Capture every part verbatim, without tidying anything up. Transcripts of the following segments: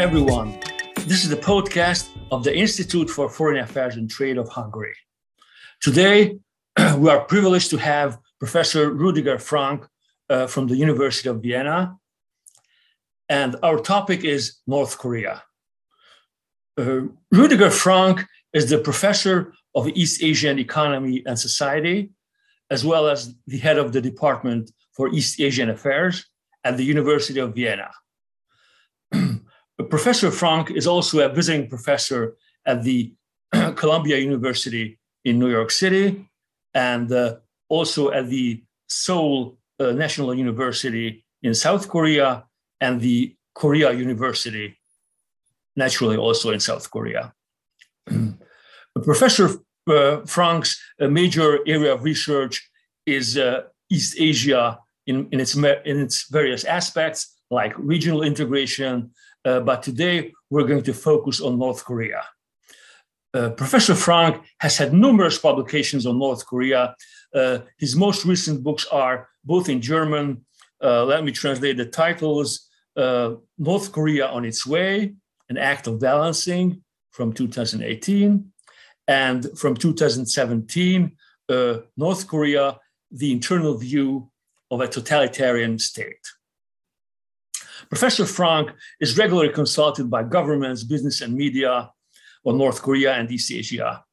everyone. This is the podcast of the Institute for Foreign Affairs and Trade of Hungary. Today, we are privileged to have Professor Rüdiger Frank uh, from the University of Vienna, and our topic is North Korea. Uh, Rüdiger Frank is the professor of East Asian Economy and Society, as well as the head of the Department for East Asian Affairs at the University of Vienna. Professor Frank is also a visiting professor at the Columbia University in New York City, and uh, also at the Seoul uh, National University in South Korea, and the Korea University, naturally also in South Korea. Professor uh, Frank's uh, major area of research is uh, East Asia in, in, its, in its various aspects, like regional integration, uh, but today we're going to focus on North Korea. Uh, Professor Frank has had numerous publications on North Korea. Uh, his most recent books are both in German. Uh, let me translate the titles. Uh, North Korea on Its Way, An Act of Balancing from two thousand eighteen. And from two thousand seventeen, uh, North Korea, The Internal View of a Totalitarian State. Professor Frank is regularly consulted by governments, business, and media on North Korea and East Asia.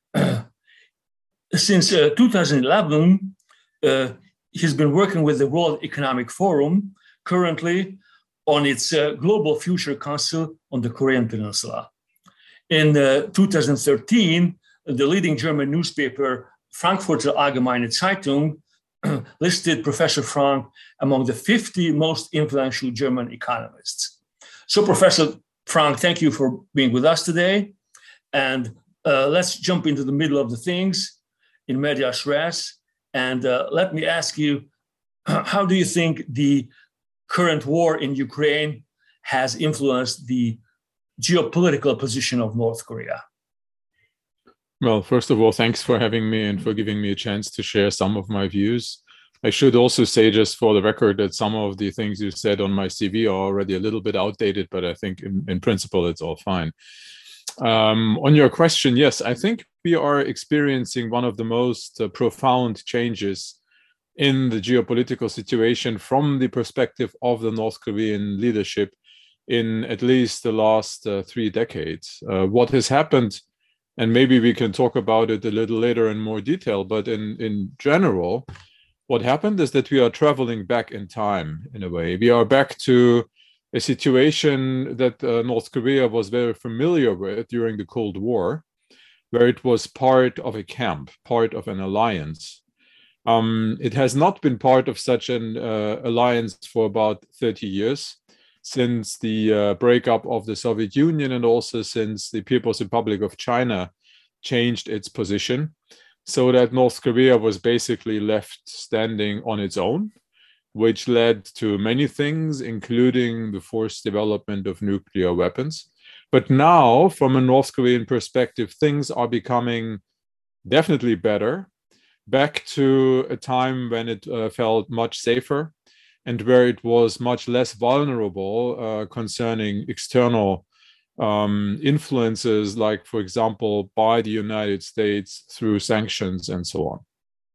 Since uh, two thousand eleven, uh, he's been working with the World Economic Forum, currently on its uh, Global Future Council on the Korean Peninsula. In uh, two thousand thirteen, the leading German newspaper, Frankfurter Allgemeine Zeitung, listed Professor Frank among the fifty most influential German economists. So, Professor Frank, thank you for being with us today. And uh, let's jump into the middle of the things, in medias res. And uh, let me ask you, how do you think the current war in Ukraine has influenced the geopolitical position of North Korea? Well, first of all, thanks for having me and for giving me a chance to share some of my views. I should also say, just for the record, that some of the things you said on my C V are already a little bit outdated, but I think in, in principle, it's all fine. Um, on your question, yes, I think we are experiencing one of the most uh, profound changes in the geopolitical situation from the perspective of the North Korean leadership in at least the last uh, three decades. Uh, what has happened, and maybe we can talk about it a little later in more detail, but in, in general, what happened is that we are traveling back in time in a way. We are back to a situation that uh, North Korea was very familiar with during the Cold War, where it was part of a camp, part of an alliance. Um, it has not been part of such an uh, alliance for about thirty years, since the uh, breakup of the Soviet Union, and also since the People's Republic of China changed its position, so that North Korea was basically left standing on its own, which led to many things, including the forced development of nuclear weapons. But now, from a North Korean perspective, things are becoming definitely better, back to a time when it uh, felt much safer, and where it was much less vulnerable uh, concerning external um, influences, like, for example, by the United States through sanctions and so on.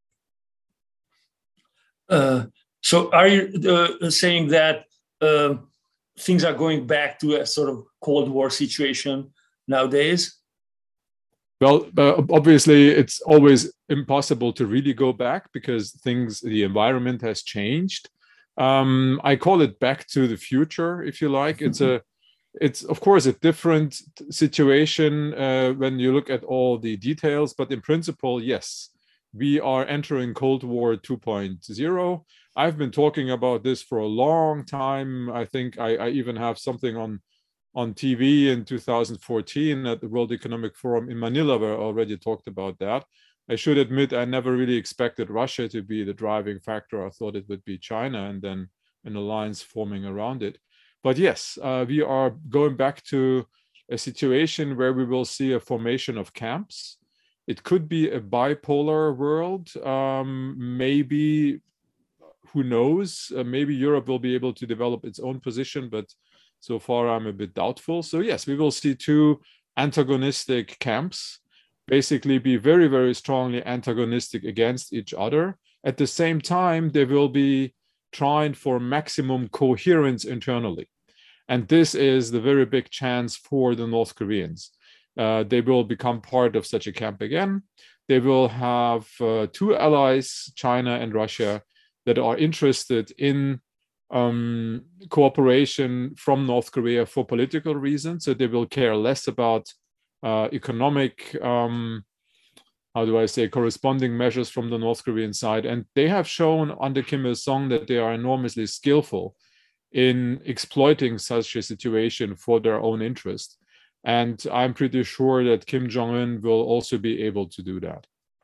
Uh, so are you uh, saying that uh, things are going back to a sort of Cold War situation nowadays? Well, uh, obviously, it's always impossible to really go back because things, the environment has changed. Um, I call it back to the future, if you like. It's a, it's of course a different situation uh, when you look at all the details, but in principle, yes, we are entering Cold War two point oh. I've been talking about this for a long time. I think I, I even have something on on T V in two thousand fourteen at the World Economic Forum in Manila, where I already talked about that. I should admit, I never really expected Russia to be the driving factor. I thought it would be China and then an alliance forming around it. But yes, uh, we are going back to a situation where we will see a formation of camps. It could be a bipolar world. Um, maybe, who knows, uh, maybe Europe will be able to develop its own position, but So far, I'm a bit doubtful. So yes, we will see two antagonistic camps basically be very, very strongly antagonistic against each other. At the same time, they will be trying for maximum coherence internally. And this is the very big chance for the North Koreans. Uh, they will become part of such a camp again. They will have uh, two allies, China and Russia, that are interested in um, cooperation from North Korea for political reasons. So they will care less about uh, economic, um, how do I say, corresponding measures from the North Korean side. And they have shown under Kim Il-sung that they are enormously skillful in exploiting such a situation for their own interest. And I'm pretty sure that Kim Jong-un will also be able to do that.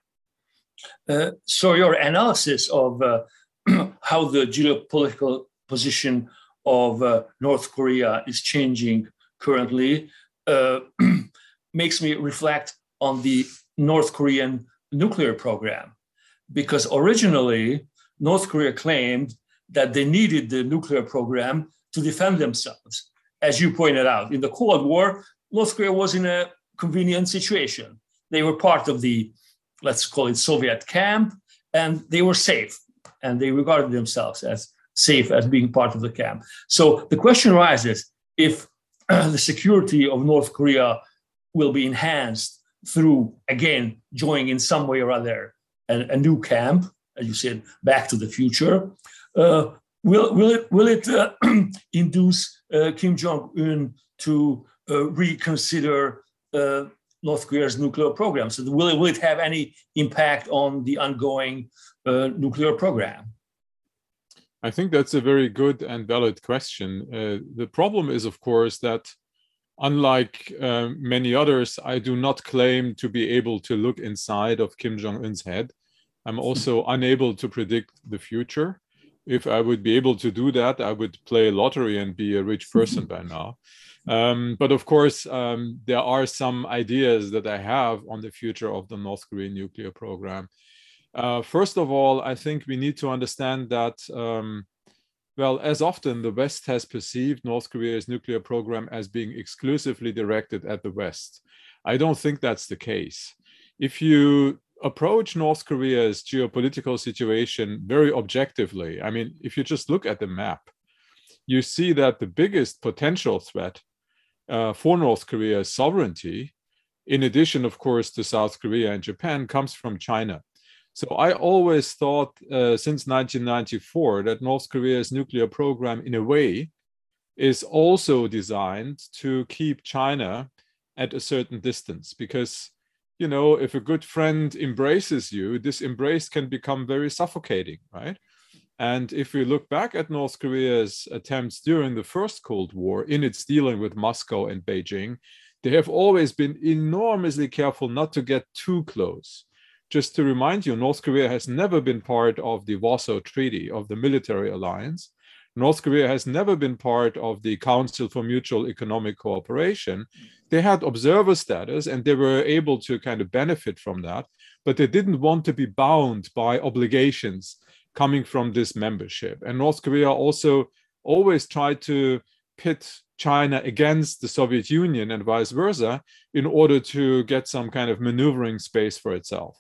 Uh, so your analysis of uh, how the geopolitical position of uh, North Korea is changing currently uh, makes me reflect on the North Korean nuclear program. Because originally, North Korea claimed that they needed the nuclear program to defend themselves. As you pointed out, in the Cold War, North Korea was in a convenient situation. They were part of the, let's call it, Soviet camp, and they were safe, and they regarded themselves as safe as being part of the camp. So the question arises, if uh, the security of North Korea will be enhanced through, again, joining in some way or other a, a new camp, as you said, Back to the Future, uh, will, will it, will it uh, induce uh, Kim Jong-un to uh, reconsider uh, North Korea's nuclear program? So will it, will it have any impact on the ongoing uh, nuclear program? I think that's a very good and valid question. Uh, the problem is, of course, that unlike uh, many others, I do not claim to be able to look inside of Kim Jong-un's head. I'm also unable to predict the future. If I would be able to do that, I would play lottery and be a rich person by now. Um, but of course, um, there are some ideas that I have on the future of the North Korean nuclear program. Uh, first of all, I think we need to understand that, um, well, as often the West has perceived North Korea's nuclear program as being exclusively directed at the West. I don't think that's the case. If you approach North Korea's geopolitical situation very objectively, I mean, if you just look at the map, you see that the biggest potential threat uh, for North Korea's sovereignty, in addition, of course, to South Korea and Japan, comes from China. So I always thought uh, since nineteen ninety-four that North Korea's nuclear program, in a way, is also designed to keep China at a certain distance. Because, you know, if a good friend embraces you, this embrace can become very suffocating, right? And if we look back at North Korea's attempts during the first Cold War in its dealing with Moscow and Beijing, they have always been enormously careful not to get too close. Just to remind you, North Korea has never been part of the Warsaw Treaty of the military alliance. North Korea has never been part of the Council for Mutual Economic Cooperation. They had observer status and they were able to kind of benefit from that, but they didn't want to be bound by obligations coming from this membership. And North Korea also always tried to pit China against the Soviet Union and vice versa in order to get some kind of maneuvering space for itself.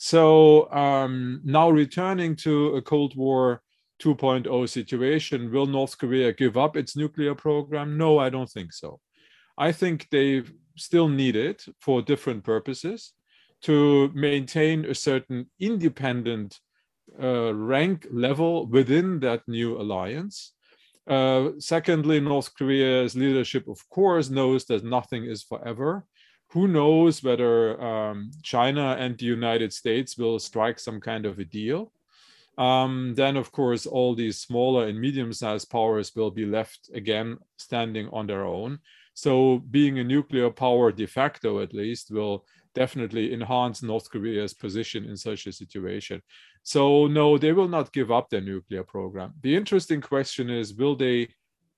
So um, now returning to a Cold War two point oh situation, will North Korea give up its nuclear program? No, I don't think so. I think they still need it for different purposes to maintain a certain independent uh, rank level within that new alliance. Uh, secondly, North Korea's leadership, of course, knows that nothing is forever. Who knows whether um, China and the United States will strike some kind of a deal. Um, then, of course, all these smaller and medium-sized powers will be left again standing on their own. So being a nuclear power de facto, at least, will definitely enhance North Korea's position in such a situation. So no, they will not give up their nuclear program. The interesting question is, will they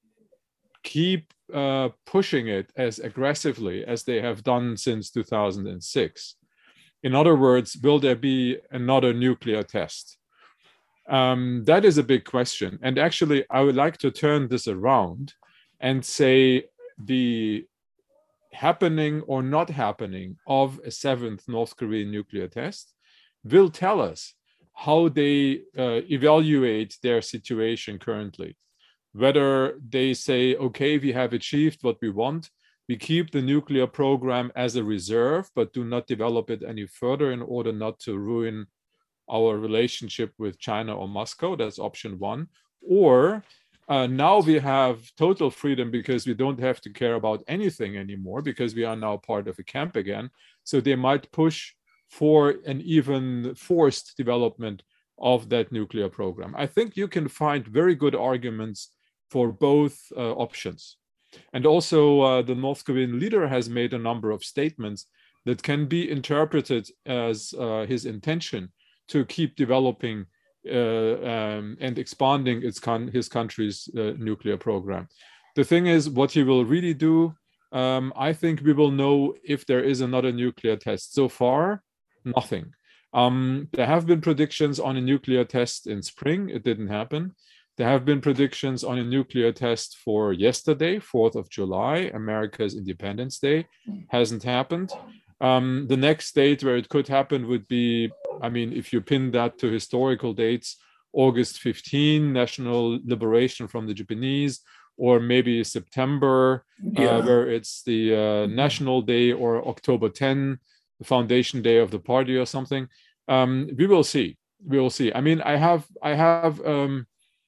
keep uh, pushing it as aggressively as they have done since two thousand six? In other words, will there be another nuclear test? Um, that is a big question. And actually, I would like to turn this around and say the happening or not happening of a seventh North Korean nuclear test will tell us how they uh, evaluate their situation currently. Whether they say, okay, we have achieved what we want, we keep the nuclear program as a reserve, but do not develop it any further in order not to ruin our relationship with China or Moscow. That's option one. Or uh, now we have total freedom because we don't have to care about anything anymore because we are now part of a camp again. So they might push for an even forced development of that nuclear program. I think you can find very good arguments for both uh, options. And also uh, the North Korean leader has made a number of statements that can be interpreted as uh, his intention to keep developing uh, um, and expanding its con his country's uh, nuclear program. The thing is, what he will really do, um, I think we will know if there is another nuclear test. So far, nothing. Um, there have been predictions on a nuclear test in spring. It didn't happen. There have been predictions on a nuclear test for yesterday, fourth of July, America's Independence Day. Hasn't happened. Um, the next date where it could happen would be, I mean, if you pin that to historical dates, August fifteenth, National Liberation from the Japanese, or maybe September, yeah. uh, where it's the uh, National Day, or October tenth, the Foundation Day of the party or something. Um, we will see. We will see. I mean, I have, I have, um,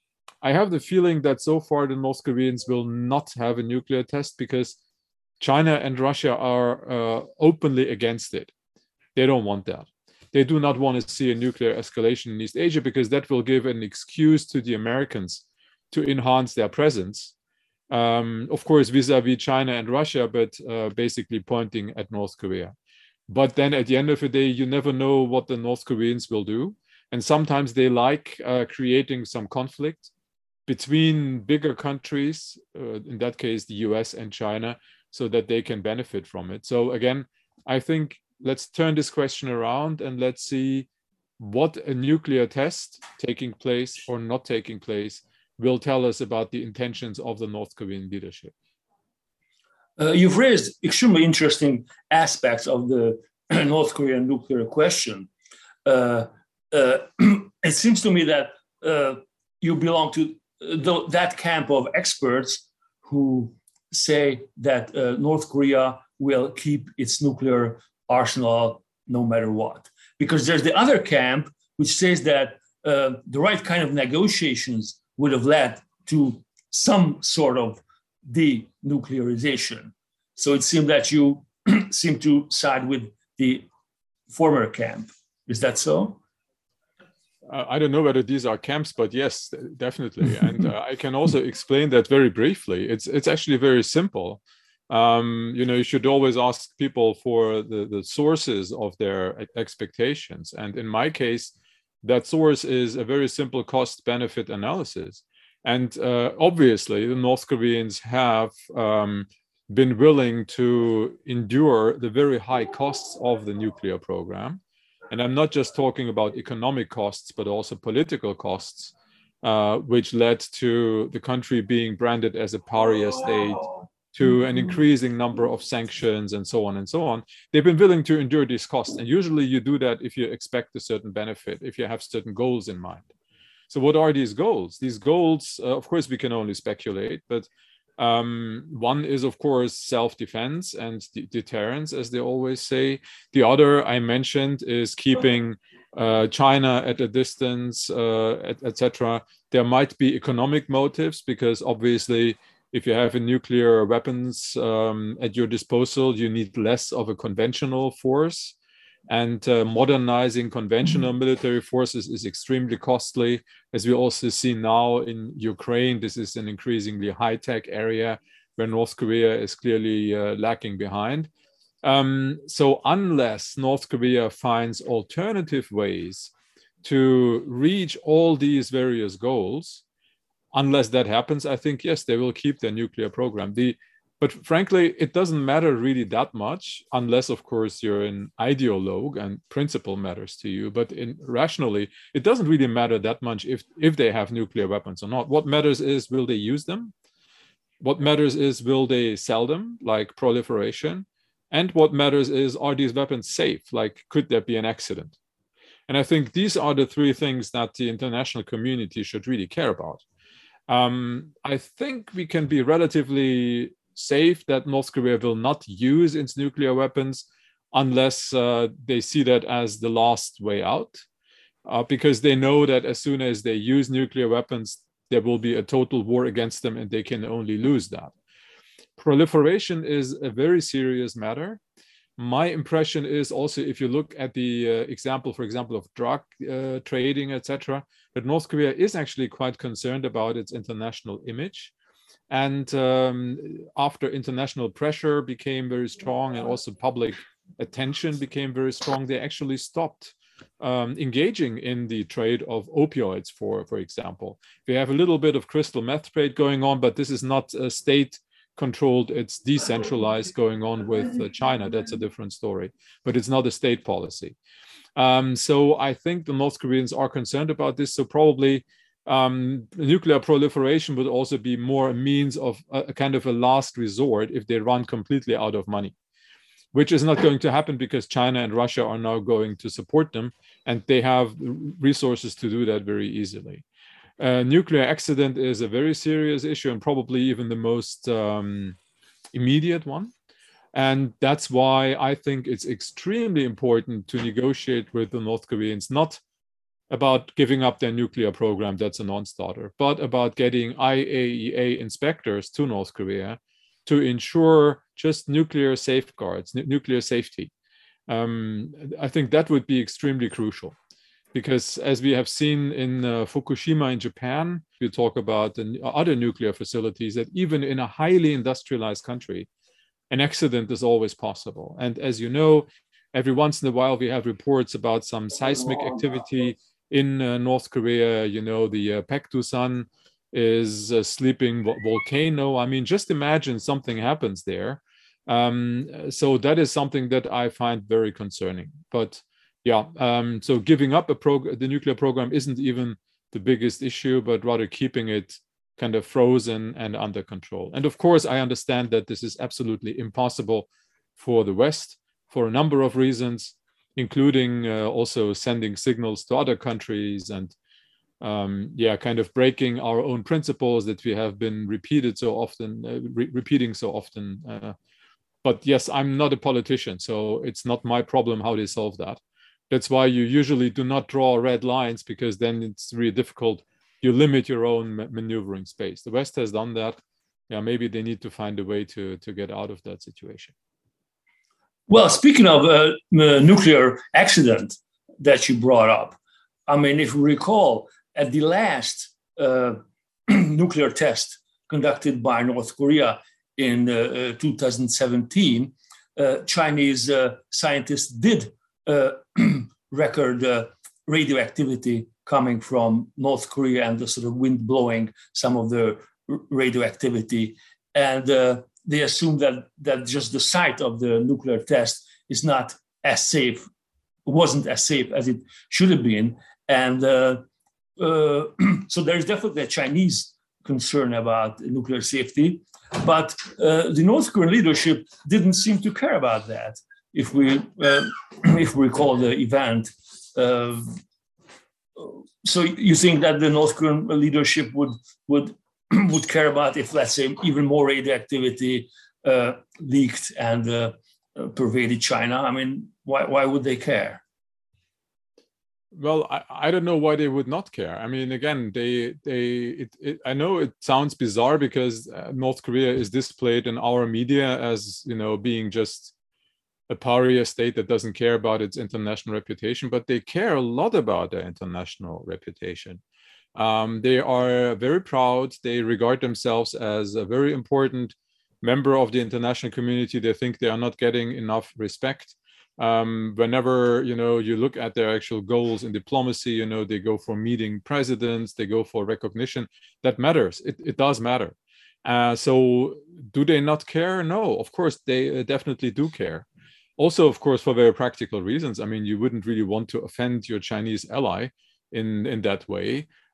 I have the feeling that so far the North Koreans will not have a nuclear test because China and Russia are uh, openly against it. They don't want that. They do not want to see a nuclear escalation in East Asia because that will give an excuse to the Americans to enhance their presence. Um, of course, vis-a-vis China and Russia, but uh, basically pointing at North Korea. But then at the end of the day, you never know what the North Koreans will do. And sometimes they like uh, creating some conflict between bigger countries, uh, in that case, the U S and China, so that they can benefit from it. So again, I think let's turn this question around and let's see what a nuclear test taking place or not taking place will tell us about the intentions of the North Korean leadership. Uh, you've raised extremely interesting aspects of the North Korean nuclear question. Uh, uh, it seems to me that uh, you belong to the, that camp of experts who say that uh, North Korea will keep its nuclear arsenal no matter what. Because there's the other camp which says that uh, the right kind of negotiations would have led to some sort of denuclearization. So it seemed that you seem to side with the former camp. Is that so? Uh, I don't know whether these are camps, but yes, definitely. And uh, I can also explain that very briefly. It's it's actually very simple. Um, you know, you should always ask people for the, the sources of their expectations. And in my case, that source is a very simple cost-benefit analysis. And uh, obviously, the North Koreans have um, been willing to endure the very high costs of the nuclear program. And I'm not just talking about economic costs, but also political costs, uh, which led to the country being branded as a pariah state, to an increasing number of sanctions and so on and so on. They've been willing to endure these costs. And usually you do that if you expect a certain benefit, if you have certain goals in mind. So what are these goals? These goals, uh, of course, we can only speculate, but um, one is, of course, self-defense and de deterrence, as they always say. The other I mentioned is keeping uh, China at a distance, uh, et cetera. There might be economic motives because obviously if you have a nuclear weapons um, at your disposal, you need less of a conventional force. And uh, modernizing conventional military forces is extremely costly. As we also see now in Ukraine, this is an increasingly high-tech area where North Korea is clearly uh, lacking behind. Um, so unless North Korea finds alternative ways to reach all these various goals, unless that happens, I think, yes, they will keep their nuclear program. The But frankly, it doesn't matter really that much, unless, of course, you're an ideologue and principle matters to you. But in, rationally, it doesn't really matter that much if, if they have nuclear weapons or not. What matters is, will they use them? What matters is, will they sell them, like proliferation? And what matters is, are these weapons safe? Like, could there be an accident? And I think these are the three things that the international community should really care about. Um, I think we can be relatively safe that North Korea will not use its nuclear weapons unless uh, they see that as the last way out, uh, because they know that as soon as they use nuclear weapons, there will be a total war against them and they can only lose that. Proliferation is a very serious matter. My impression is also, if you look at the uh, example, for example, of drug uh, trading, et cetera, that North Korea is actually quite concerned about its international image. And um, after international pressure became very strong and also public attention became very strong, they actually stopped um, engaging in the trade of opioids, for, for example. We have a little bit of crystal meth trade going on, but this is not a state controlled, it's decentralized going on with uh, China. That's a different story, but it's not a state policy. Um, so I think the North Koreans are concerned about this. So probably um, nuclear proliferation would also be more a means of a, a kind of a last resort if they run completely out of money, which is not going to happen because China and Russia are now going to support them and they have resources to do that very easily. Uh, nuclear accident is a very serious issue and probably even the most um, immediate one. And that's why I think it's extremely important to negotiate with the North Koreans, not about giving up their nuclear program, that's a non-starter, but about getting I A E A inspectors to North Korea to ensure just nuclear safeguards, nuclear safety. Um, I think that would be extremely crucial. Because as we have seen in uh, Fukushima in Japan, we talk about the other nuclear facilities, that even in a highly industrialized country, an accident is always possible. And as you know, every once in a while, we have reports about some seismic activity in uh, North Korea. You know, the uh, Paektusan is a sleeping vo volcano. I mean, just imagine something happens there. Um, so that is something that I find very concerning. But yeah, um, so giving up a prog the nuclear program isn't even the biggest issue, but rather keeping it kind of frozen and under control. And of course, I understand that this is absolutely impossible for the West for a number of reasons, including uh, also sending signals to other countries and um, yeah, kind of breaking our own principles that we have been repeated so often, uh, re repeating so often. Uh, but yes, I'm not a politician, so it's not my problem how they solve that. That's why you usually do not draw red lines, because then it's really difficult. You limit your own maneuvering space. The West has done that. Yeah, maybe they need to find a way to, to get out of that situation. Well, speaking of uh, nuclear accident that you brought up, I mean, if you recall, at the last uh, nuclear test conducted by North Korea in uh, two thousand seventeen, uh, Chinese uh, scientists did uh, record uh, radioactivity coming from North Korea and the sort of wind blowing some of the radioactivity. And uh, they assume that, that just the site of the nuclear test is not as safe, wasn't as safe as it should have been. And uh, uh, so there's definitely a Chinese concern about nuclear safety, but uh, the North Korean leadership didn't seem to care about that. If we, uh, if we recall the event, uh, so you think that the North Korean leadership would would would care about if, let's say, even more radioactivity uh, leaked and uh, pervaded China? I mean, why why would they care? Well, I, I don't know why they would not care. I mean, again, they they it, it, I know it sounds bizarre because uh, North Korea is displayed in our media as, you know, being just a pariah state that doesn't care about its international reputation, but they care a lot about their international reputation. Um, they are very proud. They regard themselves as a very important member of the international community. They think they are not getting enough respect. Um, whenever, you know, you look at their actual goals in diplomacy, you know, they go for meeting presidents, they go for recognition. That matters. It, it does matter. Uh, so do they not care? No, of course, they definitely do care. Also, of course, for very practical reasons. I mean, you wouldn't really want to offend your Chinese ally in, in that way.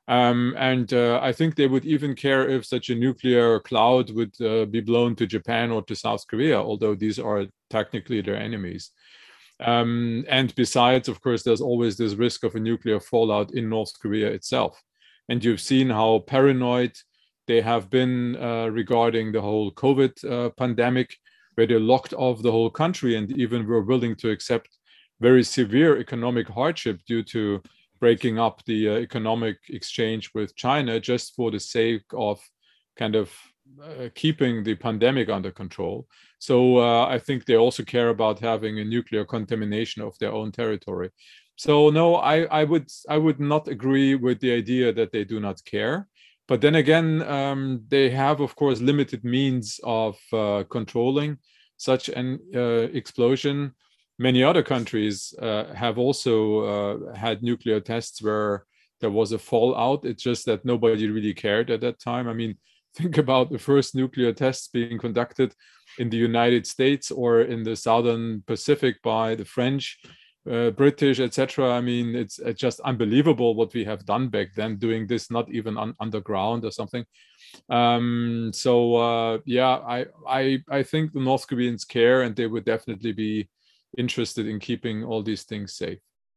Um, and uh, I think they would even care if such a nuclear cloud would uh, be blown to Japan or to South Korea, although these are technically their enemies. Um, and besides, of course, there's always this risk of a nuclear fallout in North Korea itself. And you've seen how paranoid they have been uh, regarding the whole COVID uh, pandemic, where they locked off the whole country and even were willing to accept very severe economic hardship due to breaking up the uh, economic exchange with China just for the sake of kind of uh, keeping the pandemic under control. So uh, I think they also care about having a nuclear contamination of their own territory. So no, I, I would I would not agree with the idea that they do not care. But then again, um, they have, of course, limited means of uh, controlling such an uh, explosion. Many other countries uh, have also uh, had nuclear tests where there was a fallout. It's just that nobody really cared at that time. I mean, think about the first nuclear tests being conducted in the United States or in the Southern Pacific by the French, uh, British, et cetera. I mean, it's, it's just unbelievable what we have done back then, doing this not even on, underground or something. Um, so uh, yeah, I, I I think the North Koreans care, and they would definitely be interested in keeping all these things safe.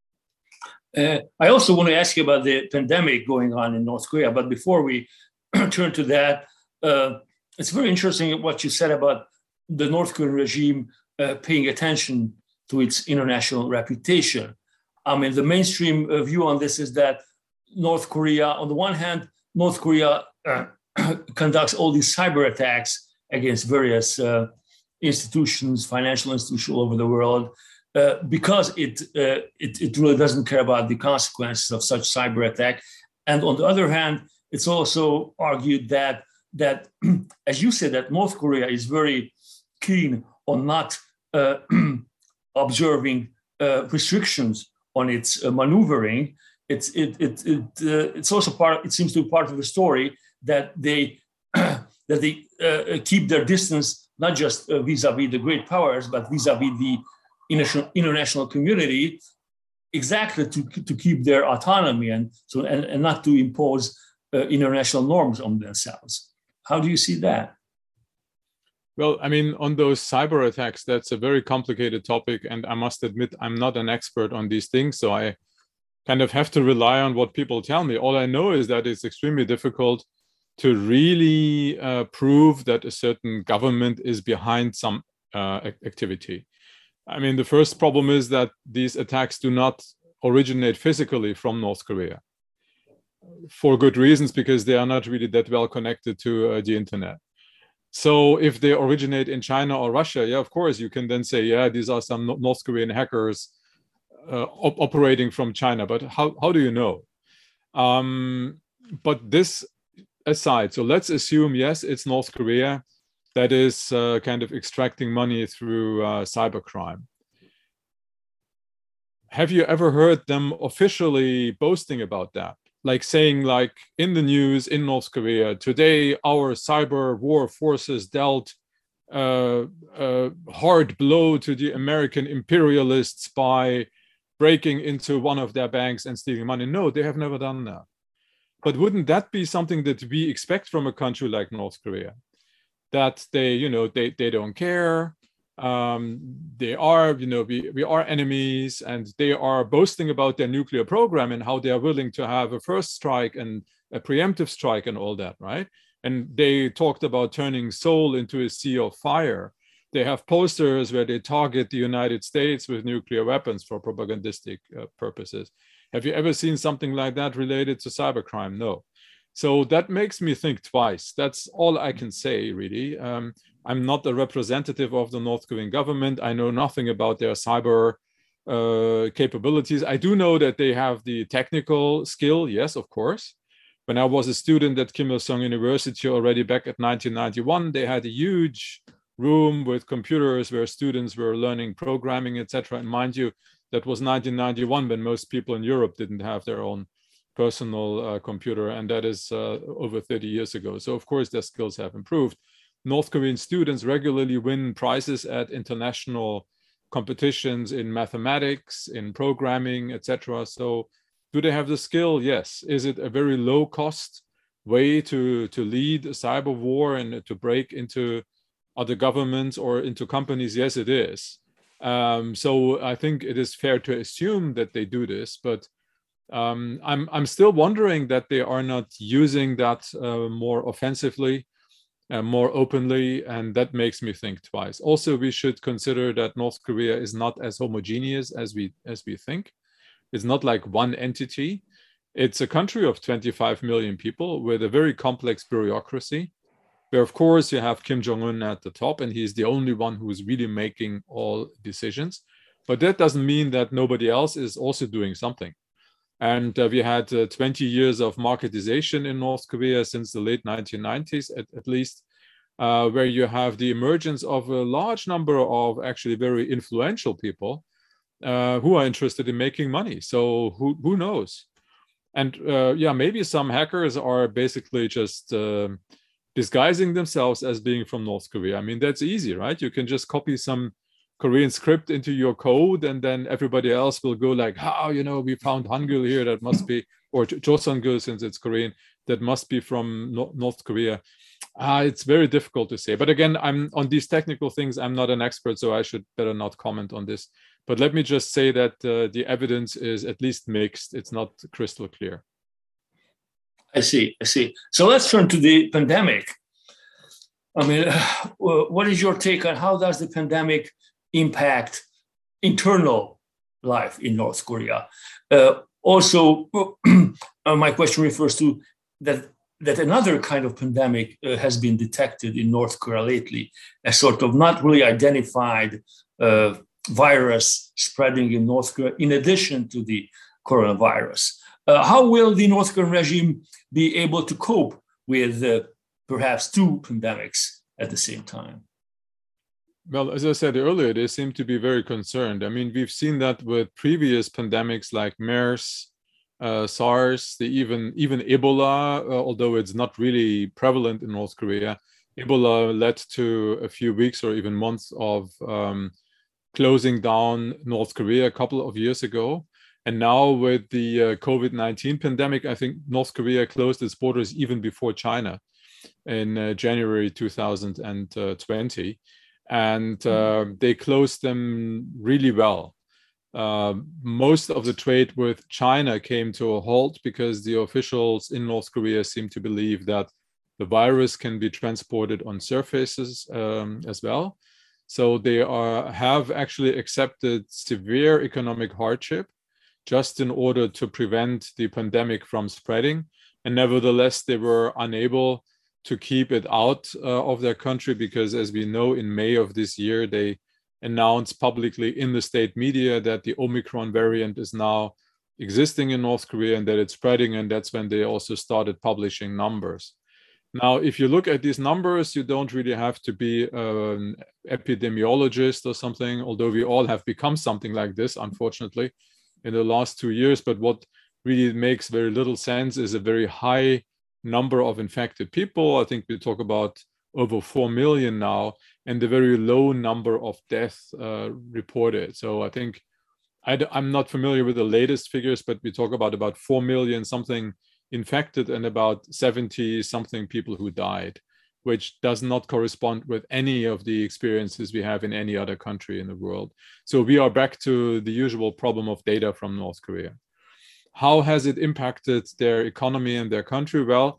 Uh, I also want to ask you about the pandemic going on in North Korea, but before we turn to that, uh, it's very interesting what you said about the North Korean regime uh, paying attention to its international reputation. I mean, the mainstream uh, view on this is that North Korea, on the one hand, North Korea uh, conducts all these cyber attacks against various uh, institutions, financial institutions all over the world, uh, because it, uh, it it really doesn't care about the consequences of such cyber attack. And on the other hand, it's also argued that that, as you said, that North Korea is very keen on not uh, observing uh, restrictions on its uh, maneuvering. It's it it, it uh, it's also part. It seems to be part of the story that they that they uh, keep their distance, not just uh, vis-a-vis the great powers, but vis-a-vis the international international community, exactly to to keep their autonomy and so and, and not to impose uh, international norms on themselves. How do you see that? Well, I mean, on those cyber attacks, that's a very complicated topic, and I must admit I'm not an expert on these things, so I kind of have to rely on what people tell me. All I know is that it's extremely difficult to really uh, prove that a certain government is behind some uh, activity. I mean, the first problem is that these attacks do not originate physically from North Korea, for good reasons, because they are not really that well connected to uh, the internet. So if they originate in China or Russia, yeah, of course, you can then say, yeah, these are some North Korean hackers uh, op operating from China. But how, how do you know? Um, but this aside, so let's assume, yes, it's North Korea that is uh, kind of extracting money through uh, cybercrime. Have you ever heard them officially boasting about that? Like saying, like in the news in North Korea, today our cyber war forces dealt uh, a hard blow to the American imperialists by breaking into one of their banks and stealing money. No, they have never done that. But wouldn't that be something that we expect from a country like North Korea? That they, you know, they, they don't care. Um, they are, you know, we, we are enemies, and they are boasting about their nuclear program and how they are willing to have a first strike and a preemptive strike and all that, right? And they talked about turning Seoul into a sea of fire. They have posters where they target the United States with nuclear weapons for propagandistic uh, purposes. Have you ever seen something like that related to cybercrime? No. So that makes me think twice. That's all I can say, really. Um, I'm not a representative of the North Korean government. I know nothing about their cyber uh, capabilities. I do know that they have the technical skill, yes, of course. When I was a student at Kim Il-sung University already back at nineteen ninety-one, they had a huge room with computers where students were learning programming, et cetera. And mind you, that was nineteen ninety-one when most people in Europe didn't have their own personal uh, computer, and that is uh, over thirty years ago. So of course their skills have improved. North Korean students regularly win prizes at international competitions in mathematics, in programming, et cetera. So Do they have the skill? Yes. Is it a very low cost way to, to lead a cyber war and to break into other governments or into companies? Yes, it is. Um, so I think it is fair to assume that they do this, but um, I'm, I'm still wondering that they are not using that uh, more offensively, uh, more openly, and that makes me think twice. Also, we should consider that North Korea is not as homogeneous as we, as we think. It's not like one entity. It's a country of twenty-five million people with a very complex bureaucracy, where of course you have Kim Jong-un at the top, and he's the only one who's really making all decisions. But that doesn't mean that nobody else is also doing something. And uh, we had uh, twenty years of marketization in North Korea since the late nineteen nineties, at, at least, uh, where you have the emergence of a large number of actually very influential people uh, who are interested in making money. So who, who knows? And uh, yeah, maybe some hackers are basically just uh, disguising themselves as being from North Korea. I mean, that's easy, right? You can just copy some Korean script into your code, and then everybody else will go like, "How, oh, you know, we found Hangul here, that must be," or Joseongul since it's Korean, that must be from no North Korea. Uh, it's very difficult to say. But again, I'm on these technical things, I'm not an expert, so I should better not comment on this. But let me just say that uh, the evidence is at least mixed. It's not crystal clear. I see, I see. So let's turn to the pandemic. I mean, what is your take on how does the pandemic impact internal life in North Korea? Uh, also, uh, my question refers to that, that another kind of pandemic uh, has been detected in North Korea lately, a sort of not really identified uh, virus spreading in North Korea in addition to the coronavirus. Uh, how will the North Korean regime be able to cope with uh, perhaps two pandemics at the same time? Well, as I said earlier, they seem to be very concerned. I mean, we've seen that with previous pandemics like MERS, uh, SARS, the even even Ebola, uh, although it's not really prevalent in North Korea. Ebola led to a few weeks or even months of um, closing down North Korea a couple of years ago. And now with the uh, COVID nineteen pandemic, I think North Korea closed its borders even before China in uh, January two thousand twenty. And uh, they closed them really well. Uh, most of the trade with China came to a halt because the officials in North Korea seem to believe that the virus can be transported on surfaces um, as well. So they are, have actually accepted severe economic hardship just in order to prevent the pandemic from spreading. And nevertheless, they were unable to keep it out uh, of their country because, as we know, in May of this year, they announced publicly in the state media that the Omicron variant is now existing in North Korea and that it's spreading, and that's when they also started publishing numbers. Now, if you look at these numbers, you don't really have to be an epidemiologist or something, although we all have become something like this, unfortunately, in the last two years. But what really makes very little sense is a very high number of infected people. I think we talk about over four million now, and a very low number of deaths uh, reported. So I think I I'm not familiar with the latest figures, but we talk about about four million something infected and about seventy something people who died, which does not correspond with any of the experiences we have in any other country in the world. So we are back to the usual problem of data from North Korea. How has it impacted their economy and their country? Well,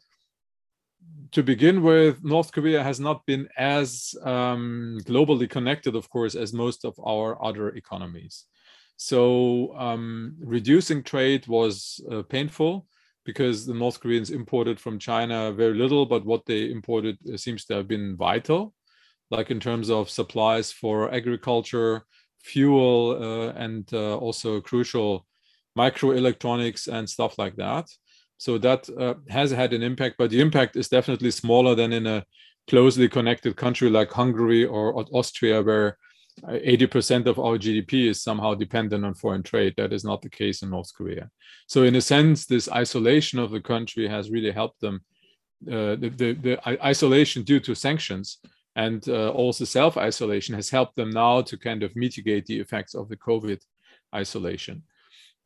to begin with, North Korea has not been as um, globally connected, of course, as most of our other economies. So um, reducing trade was uh, painful because the North Koreans imported from China very little, but what they imported uh, seems to have been vital, like in terms of supplies for agriculture, fuel, uh, and uh, also crucial microelectronics and stuff like that. So that uh, has had an impact, but the impact is definitely smaller than in a closely connected country like Hungary or Austria, where eighty percent of our G D P is somehow dependent on foreign trade. That is not the case in North Korea. So in a sense, this isolation of the country has really helped them. Uh, the, the, the isolation due to sanctions and uh, also self-isolation has helped them now to kind of mitigate the effects of the COVID isolation.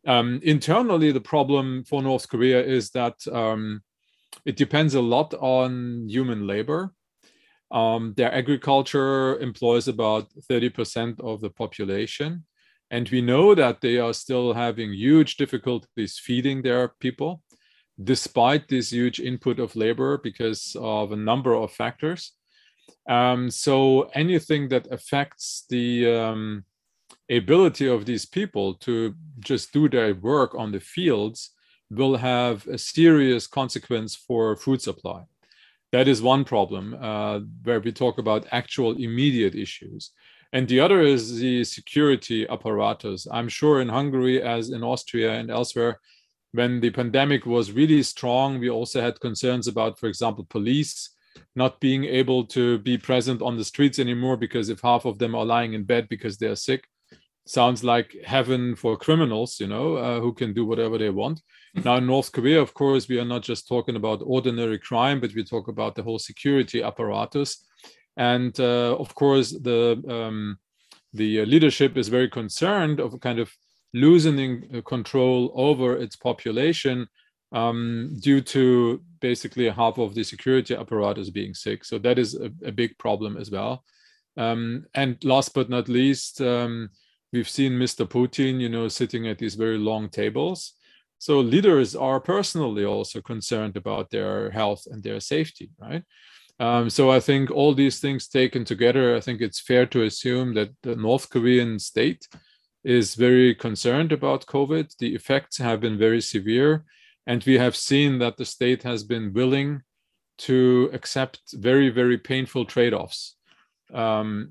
Um, internally, the problem for North Korea is that um, it depends a lot on human labor. Um, their agriculture employs about thirty percent of the population. And we know that they are still having huge difficulties feeding their people, despite this huge input of labor because of a number of factors. Um, so anything that affects the um, ability of these people to just do their work on the fields will have a serious consequence for food supply. That is one problem uh, where we talk about actual immediate issues. And the other is the security apparatus. I'm sure in Hungary, as in Austria and elsewhere, when the pandemic was really strong, we also had concerns about, for example, police not being able to be present on the streets anymore, because if half of them are lying in bed because they're sick, sounds like heaven for criminals, you know, uh, who can do whatever they want. Now in North Korea, of course, we are not just talking about ordinary crime, but we talk about the whole security apparatus. And uh, of course, the, um, the leadership is very concerned of kind of loosening control over its population um, due to basically half of the security apparatus being sick. So that is a, a big problem as well. Um, and last but not least, um, we've seen Mister Putin, you know, sitting at these very long tables. So leaders are personally also concerned about their health and their safety, right? Um, so I think all these things taken together, I think it's fair to assume that the North Korean state is very concerned about COVID. The effects have been very severe. And we have seen that the state has been willing to accept very, very painful trade-offs. Um,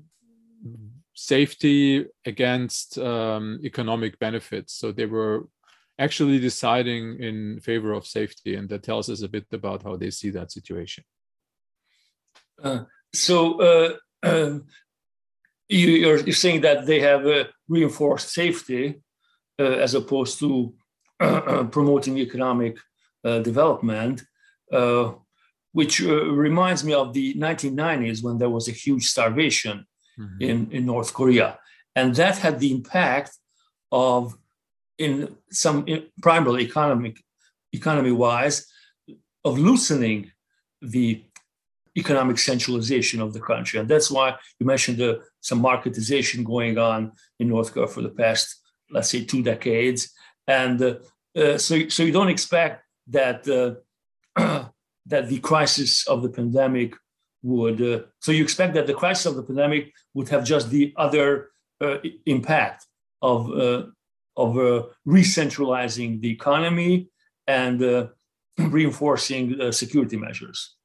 safety against um, economic benefits. So they were actually deciding in favor of safety, and that tells us a bit about how they see that situation. Uh, so uh, uh, you, you're, you're saying that they have uh, reinforced safety uh, as opposed to uh, promoting economic uh, development, uh, which uh, reminds me of the nineteen nineties when there was a huge starvation mm-hmm. in, in North Korea. And that had the impact of, in some in primarily economic, economy-wise, of loosening the economic centralization of the country. And that's why you mentioned the, some marketization going on in North Korea for the past, let's say, two decades. And uh, uh, so, so you don't expect that uh, that the crisis of the pandemic would, uh, so you expect that the crisis of the pandemic would have just the other uh, impact of, uh, of uh, re-centralizing the economy and uh, reinforcing uh, security measures.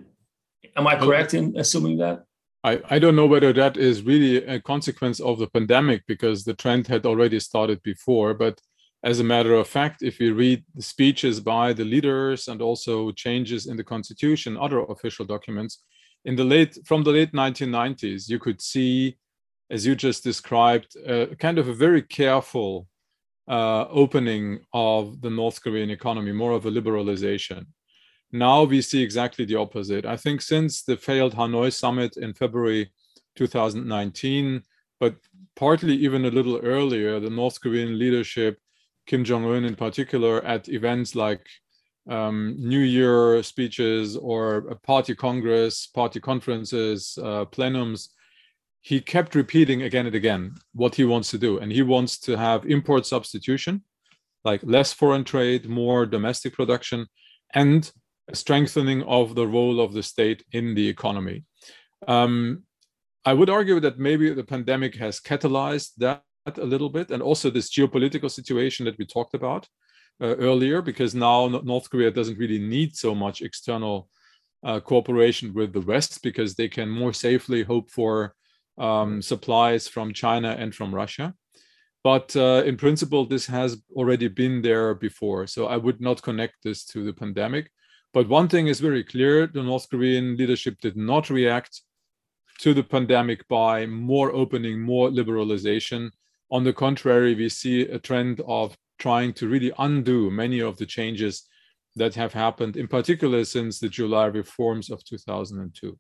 Am I correct in assuming that? I, I don't know whether that is really a consequence of the pandemic, because the trend had already started before. But as a matter of fact, if you read the speeches by the leaders and also changes in the constitution, other official documents, in the late from the late nineteen nineties, you could see, as you just described, uh, kind of a very careful uh, opening of the North Korean economy, more of a liberalization. Now we see exactly the opposite. I think since the failed Hanoi summit in February two thousand nineteen, but partly even a little earlier, the North Korean leadership, Kim Jong-un in particular, at events like um, New Year speeches or a party congress, party conferences, uh, plenums, he kept repeating again and again what he wants to do. And he wants to have import substitution, like less foreign trade, more domestic production, and a strengthening of the role of the state in the economy. Um, I would argue that maybe the pandemic has catalyzed that a little bit, and also this geopolitical situation that we talked about uh, earlier, because now North Korea doesn't really need so much external uh, cooperation with the West, because they can more safely hope for um, supplies from China and from Russia. But uh, in principle, this has already been there before. So I would not connect this to the pandemic. But one thing is very clear: the North Korean leadership did not react to the pandemic by more opening, more liberalization. On the contrary, we see a trend of trying to really undo many of the changes that have happened, in particular since the July reforms of two thousand two.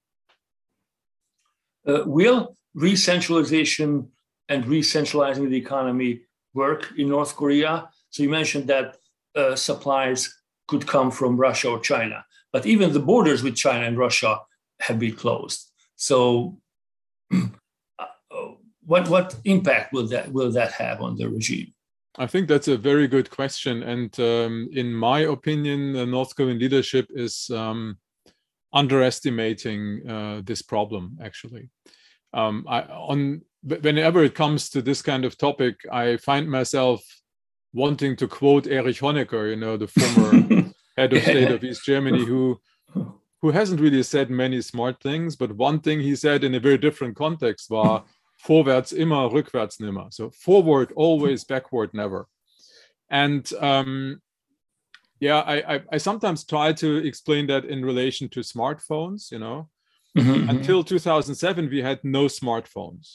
Uh, will re-centralization and re-centralizing the economy work in North Korea? So you mentioned that uh, supplies could come from Russia or China, but even the borders with China and Russia have been closed. So uh, what, what impact will that, will that have on the regime? I think that's a very good question. And um, in my opinion, the North Korean leadership is um, underestimating uh, this problem, actually. Um, I, on, whenever it comes to this kind of topic, I find myself wanting to quote Erich Honecker, you know, the former head of state of East Germany, who, who hasn't really said many smart things, but one thing he said in a very different context was, vorwärts immer, rückwärts nimmer. So forward always, backward never. And um, yeah, I, I, I sometimes try to explain that in relation to smartphones, you know. Mm-hmm. Until two thousand seven, we had no smartphones.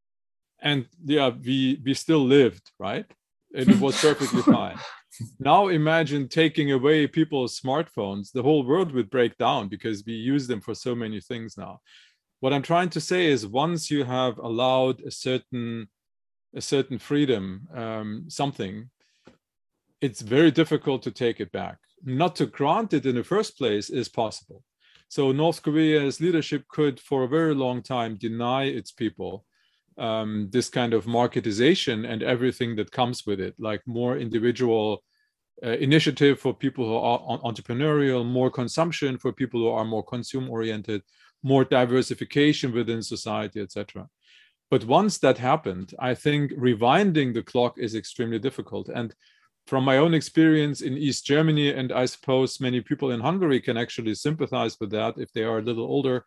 And yeah, we, we still lived, right? And it was perfectly fine. Now imagine taking away people's smartphones, the whole world would break down because we use them for so many things now. What I'm trying to say is once you have allowed a certain, a certain freedom, um, something, it's very difficult to take it back. Not to grant it in the first place is possible. So North Korea's leadership could for a very long time deny its people um, this kind of marketization and everything that comes with it, like more individual uh, initiative for people who are entrepreneurial, more consumption for people who are more consume-oriented, more diversification within society, et cetera. But once that happened, I think rewinding the clock is extremely difficult. And from my own experience in East Germany, and I suppose many people in Hungary can actually sympathize with that if they are a little older,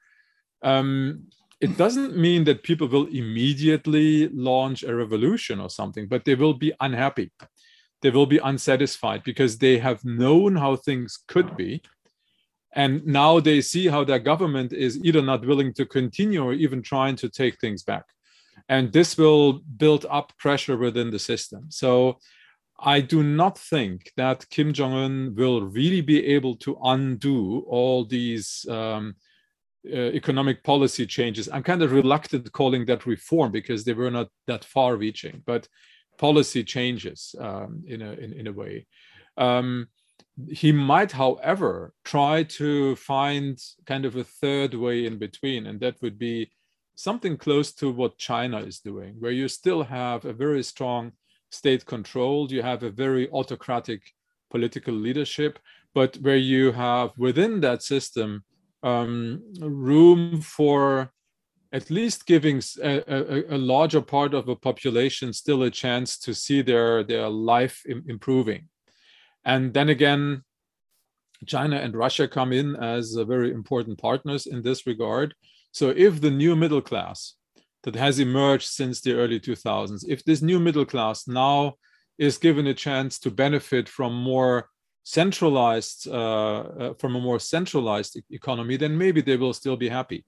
um, it doesn't mean that people will immediately launch a revolution or something, but they will be unhappy. They will be unsatisfied because they have known how things could be. And now they see how their government is either not willing to continue or even trying to take things back. And this will build up pressure within the system. So I do not think that Kim Jong-un will really be able to undo all these um, uh, economic policy changes. I'm kind of reluctant calling that reform because they were not that far-reaching, but policy changes um, in, a, in, in a way. Um, He might, however, try to find kind of a third way in between, and that would be something close to what China is doing, where you still have a very strong state control, you have a very autocratic political leadership, but where you have within that system um, room for at least giving a, a, a larger part of the population still a chance to see their, their life im- improving. And then again, China and Russia come in as very important partners in this regard. So if the new middle class that has emerged since the early two thousands, if this new middle class now is given a chance to benefit from more centralized, uh, uh, from a more centralized economy, then maybe they will still be happy.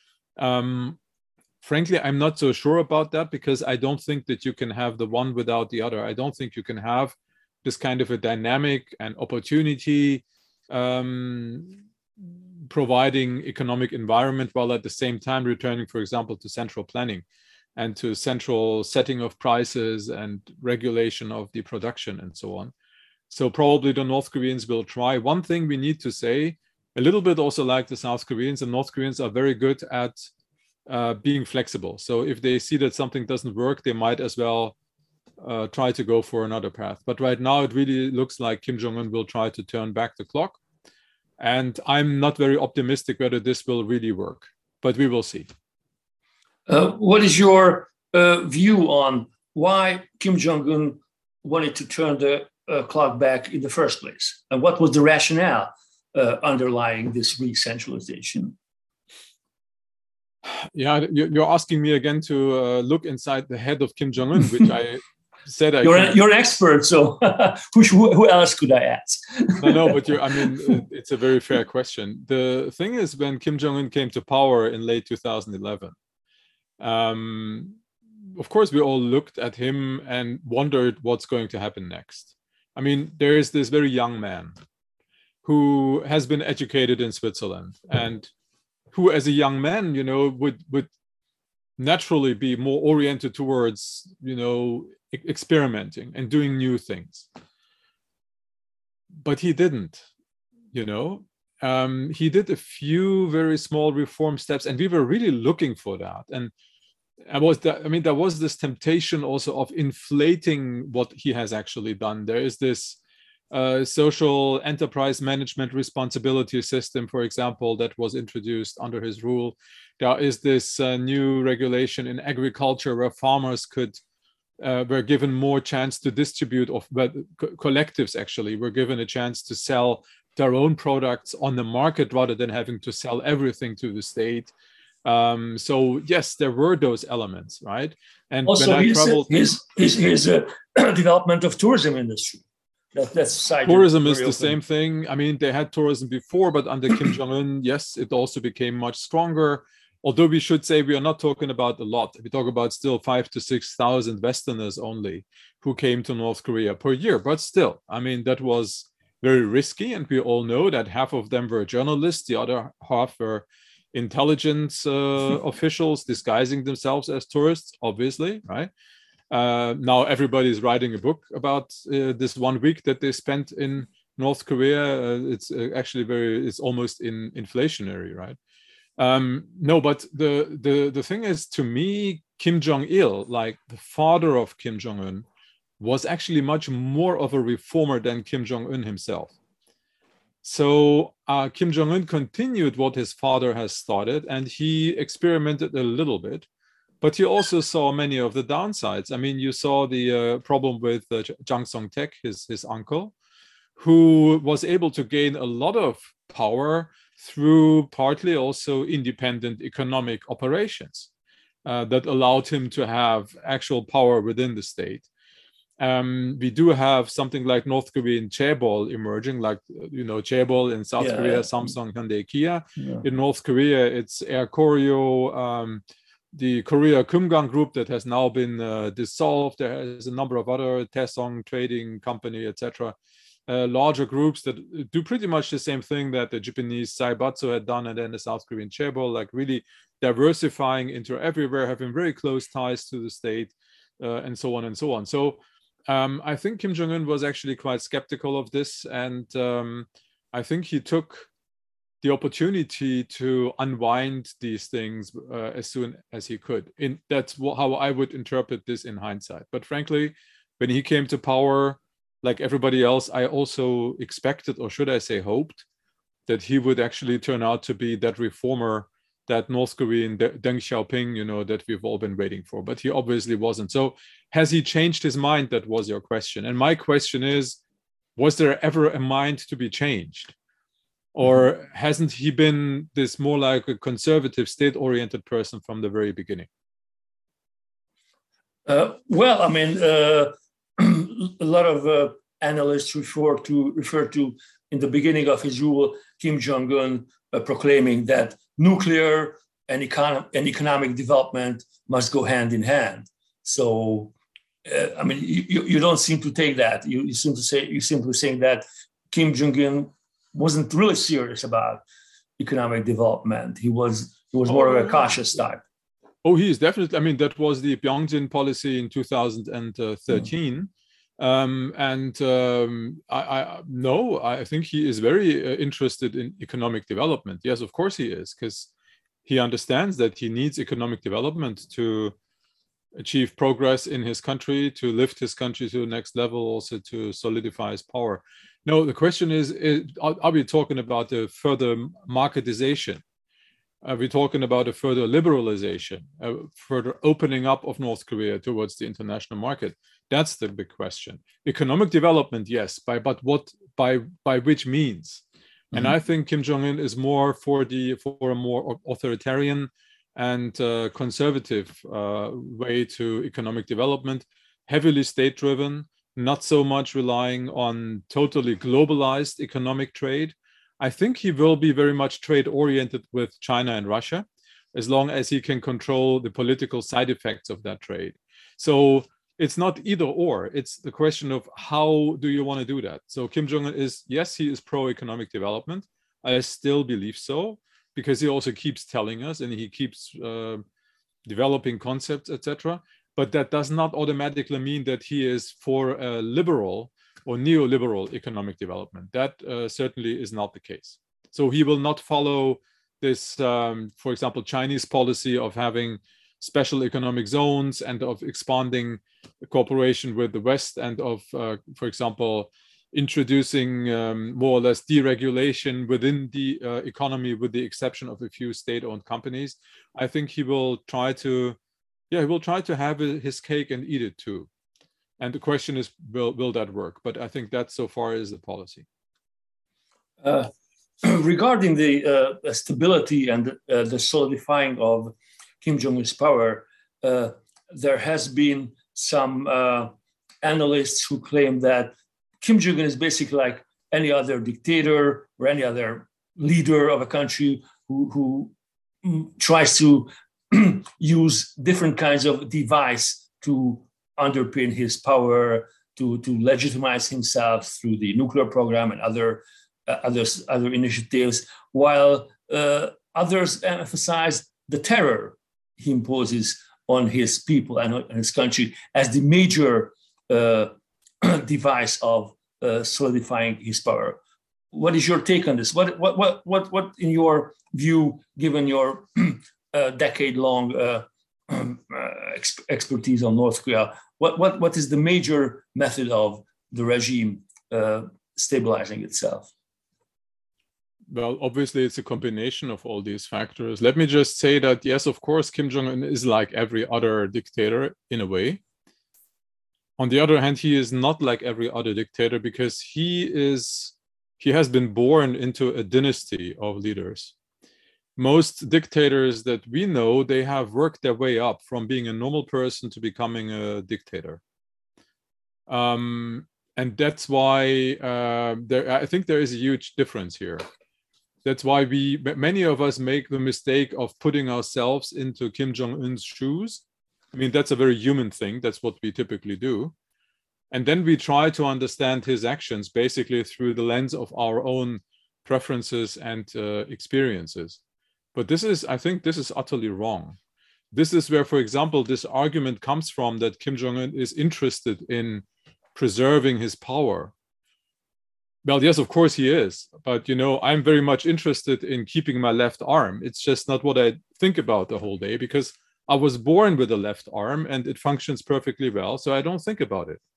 Um, frankly, I'm not so sure about that because I don't think that you can have the one without the other. I don't think you can have this kind of a dynamic and opportunity um, providing economic environment while at the same time returning, for example, to central planning and to central setting of prices and regulation of the production and so on. So probably the North Koreans will try. One thing we need to say, a little bit also like the South Koreans, the North Koreans are very good at uh, being flexible. So if they see that something doesn't work, they might as well Uh, try to go for another path. But right now, it really looks like Kim Jong-un will try to turn back the clock. And I'm not very optimistic whether this will really work, but we will see. Uh, what is your uh, view on why Kim Jong-un wanted to turn the uh, clock back in the first place? And what was the rationale uh, underlying this re-centralization? Yeah, you're asking me again to uh, look inside the head of Kim Jong-un, which I said I you're, can. An, you're an expert, so who, who else could I ask? no, no, but you, I mean, it's a very fair question. The thing is, when Kim Jong-un came to power in late two thousand eleven, um, of course, we all looked at him and wondered what's going to happen next. I mean, there is this very young man who has been educated in Switzerland and who, as a young man, you know, would would naturally be more oriented towards, you know, experimenting and doing new things. but he didn't, you know. Um, he did a few very small reform steps, and we were really looking for that. And I was, that, I mean, there was this temptation also of inflating what he has actually done. There is this uh, social enterprise management responsibility system, for example, that was introduced under his rule. There is this uh, new regulation in agriculture where farmers could uh, were given more chance to distribute, of but co collectives actually were given a chance to sell their own products on the market rather than having to sell everything to the state. Um, so yes, there were those elements, right? And also, when I his, traveled, his, his, his uh, development of tourism industry. That, that's tourism is the open. same thing. I mean, they had tourism before, but under Kim Jong-un, yes, it also became much stronger. Although we should say we are not talking about a lot. We talk about still five to six thousand Westerners only who came to North Korea per year. But still, I mean, that was very risky, and we all know that half of them were journalists, the other half were intelligence uh, officials disguising themselves as tourists, obviously, right? Uh, now everybody's writing a book about uh, this one week that they spent in North Korea. Uh, it's uh, actually very, it's almost in inflationary, right? Um, no, but the, the, the thing is, to me, Kim Jong-il, like the father of Kim Jong-un, was actually much more of a reformer than Kim Jong-un himself. So uh, Kim Jong-un continued what his father has started, and he experimented a little bit, but he also saw many of the downsides. I mean, you saw the uh, problem with uh, Jang Song-taek, his, his uncle, who was able to gain a lot of power through partly also independent economic operations uh, that allowed him to have actual power within the state. Um, we do have something like North Korean chaebol emerging, like, you know, chaebol in South yeah, Korea, yeah. Samsung, Hyundai, Kia. Yeah. In North Korea, it's Air Koryo, um, the Korea Kumgang Group that has now been uh, dissolved. There is a number of other Taesong Trading Company, et cetera. Uh, larger groups that do pretty much the same thing that the Japanese Saibatsu had done, and then the South Korean chaebol, like really diversifying into everywhere, having very close ties to the state, uh, and so on and so on. So um, I think Kim Jong-un was actually quite skeptical of this, and um, I think he took the opportunity to unwind these things uh, as soon as he could. In, that's how I would interpret this in hindsight. But frankly, when he came to power, like everybody else, I also expected, or should I say hoped, that he would actually turn out to be that reformer, that North Korean Deng Xiaoping, you know, that we've all been waiting for. But he obviously wasn't. So has he changed his mind? That was your question. And my question is, was there ever a mind to be changed? Or mm-hmm. hasn't he been this more like a conservative, state-oriented person from the very beginning? Uh, well, I mean, uh... a lot of uh, analysts refer to refer to in the beginning of his rule, Kim Jong-un uh, proclaiming that nuclear and, econ and economic development must go hand in hand. So, uh, I mean, you, you don't seem to take that. You, you seem to say you simply saying that Kim Jong-un wasn't really serious about economic development. He was he was more oh, of a cautious type. Oh, he is definitely. I mean, that was the Pyongyang policy in two thousand thirteen. Mm. Um, and um, I, I no, I think he is very uh, interested in economic development. Yes, of course he is, because he understands that he needs economic development to achieve progress in his country, to lift his country to the next level, also to solidify his power. No, the question is, is are, are we talking about a further marketization? Are we talking about a further liberalization, a further opening up of North Korea towards the international market? That's the big question. Economic development, yes, by but what by by which means? Mm-hmm. And I think Kim Jong-un is more for the for a more authoritarian and uh, conservative uh, way to economic development, heavily state-driven, not so much relying on totally globalized economic trade. I think he will be very much trade-oriented with China and Russia, as long as he can control the political side effects of that trade. So it's not either or. It's the question of how do you want to do that? So Kim Jong-un is, yes, he is pro-economic development. I still believe so, because he also keeps telling us and he keeps uh, developing concepts, et cetera. But that does not automatically mean that he is for a liberal or neoliberal economic development. That uh, certainly is not the case. So he will not follow this, um, for example, Chinese policy of having special economic zones and of expanding cooperation with the West and of, uh, for example, introducing um, more or less deregulation within the uh, economy with the exception of a few state-owned companies. I think he will try to, yeah, he will try to have his cake and eat it too. And the question is, will, will that work? But I think that so far is the policy. Uh, regarding the uh, stability and uh, the solidifying of Kim Jong-un's power, uh, there has been some uh, analysts who claim that Kim Jong-un is basically like any other dictator or any other leader of a country who, who tries to use different kinds of device to underpin his power, to, to legitimize himself through the nuclear program and other uh, others, other initiatives, while uh, others emphasize the terror he imposes on his people and on his country as the major uh, device of uh, solidifying his power. What is your take on this? What, what, what, what, what in your view, given your uh, decade-long uh, um, uh, exp expertise on North Korea, what, what, what is the major method of the regime uh, stabilizing itself? Well, obviously, it's a combination of all these factors. Let me just say that, yes, of course, Kim Jong-un is like every other dictator in a way. On the other hand, he is not like every other dictator because he is, he has been born into a dynasty of leaders. Most dictators that we know, they have worked their way up from being a normal person to becoming a dictator. Um, and that's why uh, there, I think there is a huge difference here. That's why we, many of us make the mistake of putting ourselves into Kim Jong-un's shoes. I mean, that's a very human thing. That's what we typically do. And then we try to understand his actions basically through the lens of our own preferences and uh, experiences. But this is, I think this is utterly wrong. This is where, for example, this argument comes from that Kim Jong-un is interested in preserving his power. Well, yes, of course he is. But, you know, I'm very much interested in keeping my left arm. It's just not what I think about the whole day because I was born with a left arm and it functions perfectly well. So I don't think about it.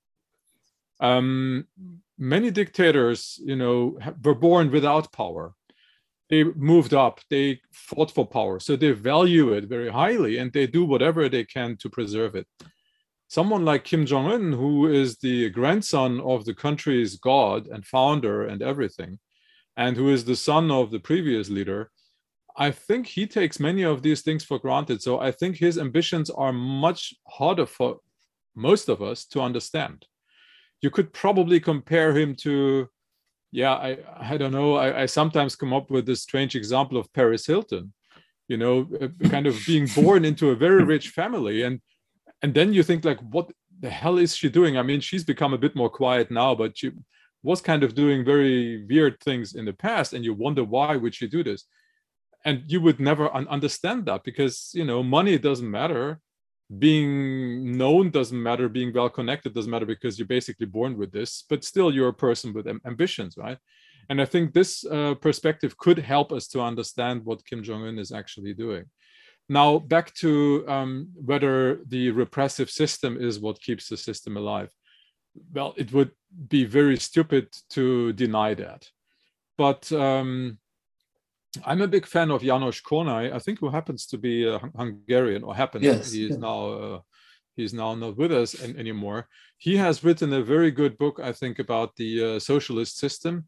Um, many dictators, you know, were born without power. They moved up, they fought for power. So they value it very highly and they do whatever they can to preserve it. Someone like Kim Jong-un, who is the grandson of the country's god and founder and everything, and who is the son of the previous leader, I think he takes many of these things for granted. So I think his ambitions are much harder for most of us to understand. You could probably compare him to, yeah, I, I don't know, I, I sometimes come up with this strange example of Paris Hilton, you know, kind of being born into a very rich family. And And then you think like, what the hell is she doing? I mean, she's become a bit more quiet now, but she was kind of doing very weird things in the past. And you wonder, why would she do this? And you would never un understand that because, you know, money doesn't matter. Being known doesn't matter. Being well connected doesn't matter because you're basically born with this, but still you're a person with ambitions, right? And I think this uh, perspective could help us to understand what Kim Jong-un is actually doing. Now, back to um, whether the repressive system is what keeps the system alive. Well, it would be very stupid to deny that. But um, I'm a big fan of János Kornai, I think, who happens to be a Hungarian, or happens. Yes, he is yes. now uh, he's now not with us an anymore. He has written a very good book, I think, about the uh, socialist system.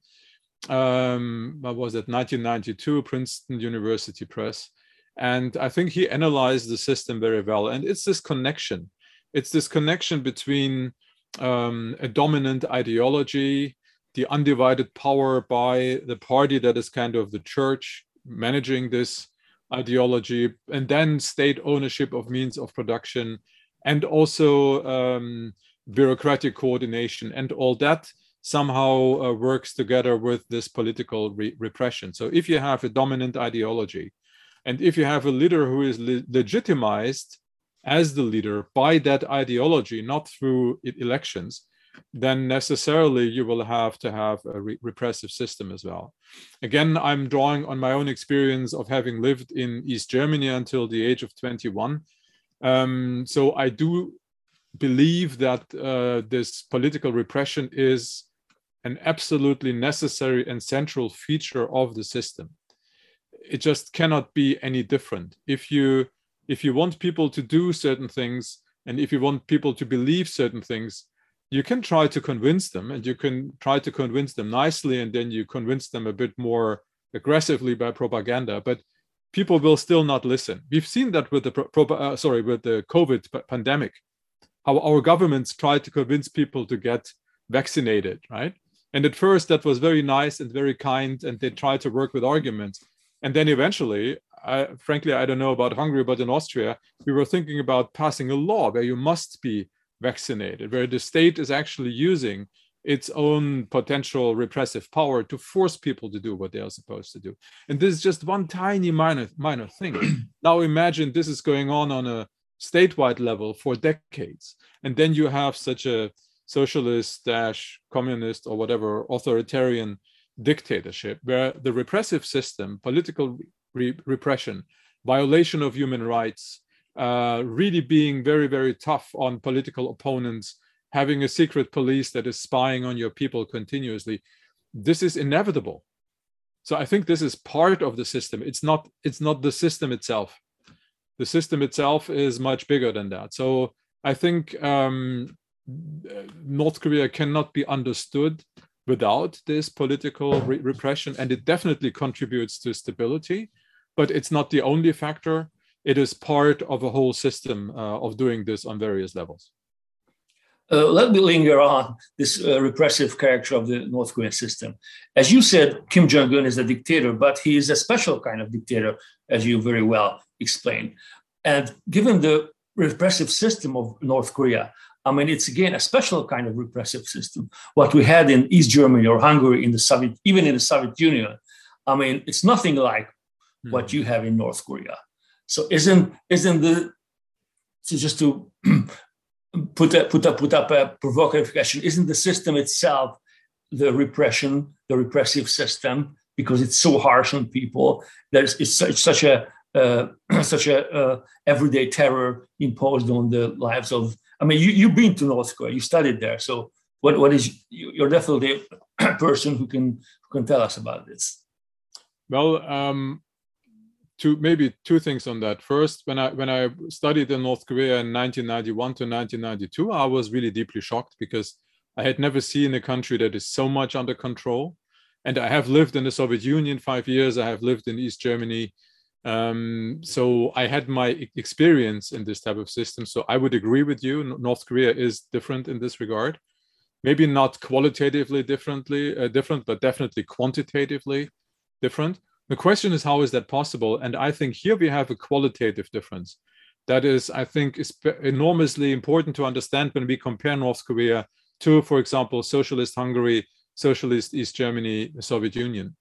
Um, what was it, nineteen ninety-two, Princeton University Press. And I think he analyzed the system very well. And it's this connection. It's this connection between um, a dominant ideology, the undivided power by the party that is kind of the church managing this ideology, and then state ownership of means of production, and also um, bureaucratic coordination. And all that somehow uh, works together with this political re repression. So if you have a dominant ideology, and if you have a leader who is le legitimized as the leader by that ideology, not through elections, then necessarily you will have to have a re repressive system as well. Again, I'm drawing on my own experience of having lived in East Germany until the age of twenty-one. Um, so I do believe that uh, this political repression is an absolutely necessary and central feature of the system. It just cannot be any different. If you, if you want people to do certain things, and if you want people to believe certain things, you can try to convince them, and you can try to convince them nicely, and then you convince them a bit more aggressively by propaganda, but people will still not listen. We've seen that with the pro uh, sorry with the COVID pandemic, how our governments tried to convince people to get vaccinated, right? And at first that was very nice and very kind, and they tried to work with arguments. And then eventually, I, frankly, I don't know about Hungary, but in Austria, we were thinking about passing a law where you must be vaccinated, where the state is actually using its own potential repressive power to force people to do what they are supposed to do. And this is just one tiny minor, minor thing. Now imagine this is going on on a statewide level for decades. And then you have such a socialist dash communist or whatever authoritarian dictatorship where the repressive system, political re repression, violation of human rights, uh, really being very, very tough on political opponents, having a secret police that is spying on your people continuously, this is inevitable. So I think this is part of the system. It's not, it's not the system itself. The system itself is much bigger than that. So I think um, North Korea cannot be understood without this political re repression, and it definitely contributes to stability, but it's not the only factor. It is part of a whole system uh, of doing this on various levels. Uh, let me linger on this uh, repressive character of the North Korean system. As you said, Kim Jong-un is a dictator, but he is a special kind of dictator, as you very well explained. And given the repressive system of North Korea, I mean, it's again a special kind of repressive system. What we had in East Germany or Hungary, in the Soviet, even in the Soviet Union, I mean, it's nothing like mm. what you have in North Korea. So isn't isn't the so just to put a, put up put up a provocative question? Isn't the system itself the repression, the repressive system, because it's so harsh on people? There's it's such, such a uh, such a uh, everyday terror imposed on the lives of. I mean, you, you've been to North Korea, you studied there. So what, what is, you're definitely a person who can, who can tell us about this. Well, um, two, maybe two things on that. First, when I, when I studied in North Korea in nineteen ninety-one to nineteen ninety-two, I was really deeply shocked because I had never seen a country that is so much under control. And I have lived in the Soviet Union five years. I have lived in East Germany. Um, so I had my experience in this type of system. So I would agree with you. North Korea is different in this regard. Maybe not qualitatively differently uh, different, but definitely quantitatively different. The question is, how is that possible? And I think here we have a qualitative difference. That is, I think, is enormously important to understand when we compare North Korea to, for example, socialist Hungary, socialist East Germany, the Soviet Union.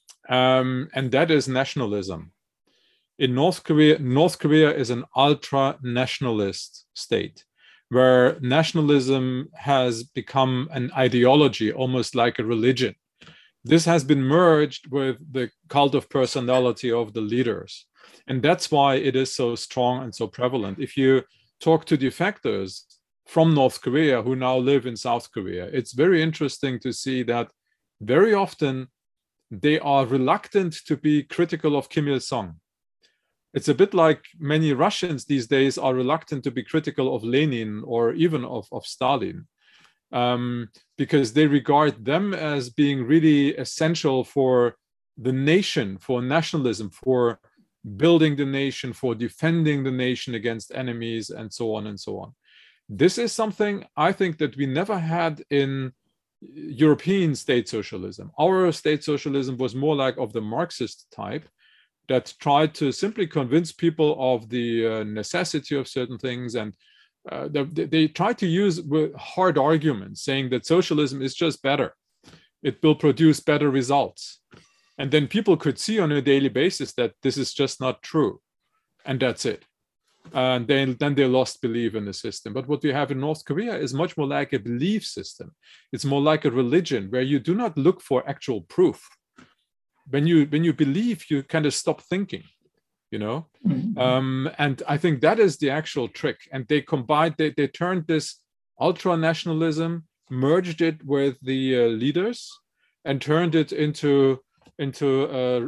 Um, and that is nationalism. In North Korea, North Korea is an ultra-nationalist state where nationalism has become an ideology, almost like a religion. This has been merged with the cult of personality of the leaders. And that's why it is so strong and so prevalent. If you talk to defectors from North Korea who now live in South Korea, it's very interesting to see that very often they are reluctant to be critical of Kim Il-sung. It's a bit like many Russians these days are reluctant to be critical of Lenin or even of, of Stalin, um, because they regard them as being really essential for the nation, for nationalism, for building the nation, for defending the nation against enemies, and so on and so on. This is something I think that we never had in European state socialism. Our state socialism was more like of the Marxist type, that tried to simply convince people of the uh, necessity of certain things. And uh, they, they tried to use hard arguments, saying that socialism is just better. It will produce better results. And then people could see on a daily basis that this is just not true. And that's it. and then, then they lost belief in the system. But what we have in North Korea is much more like a belief system. It's more like a religion where you do not look for actual proof. When you when you believe, you kind of stop thinking, you know. Mm-hmm. um, and I think that is the actual trick. And they combined, they they turned this ultra nationalism, merged it with the uh, leaders, and turned it into into a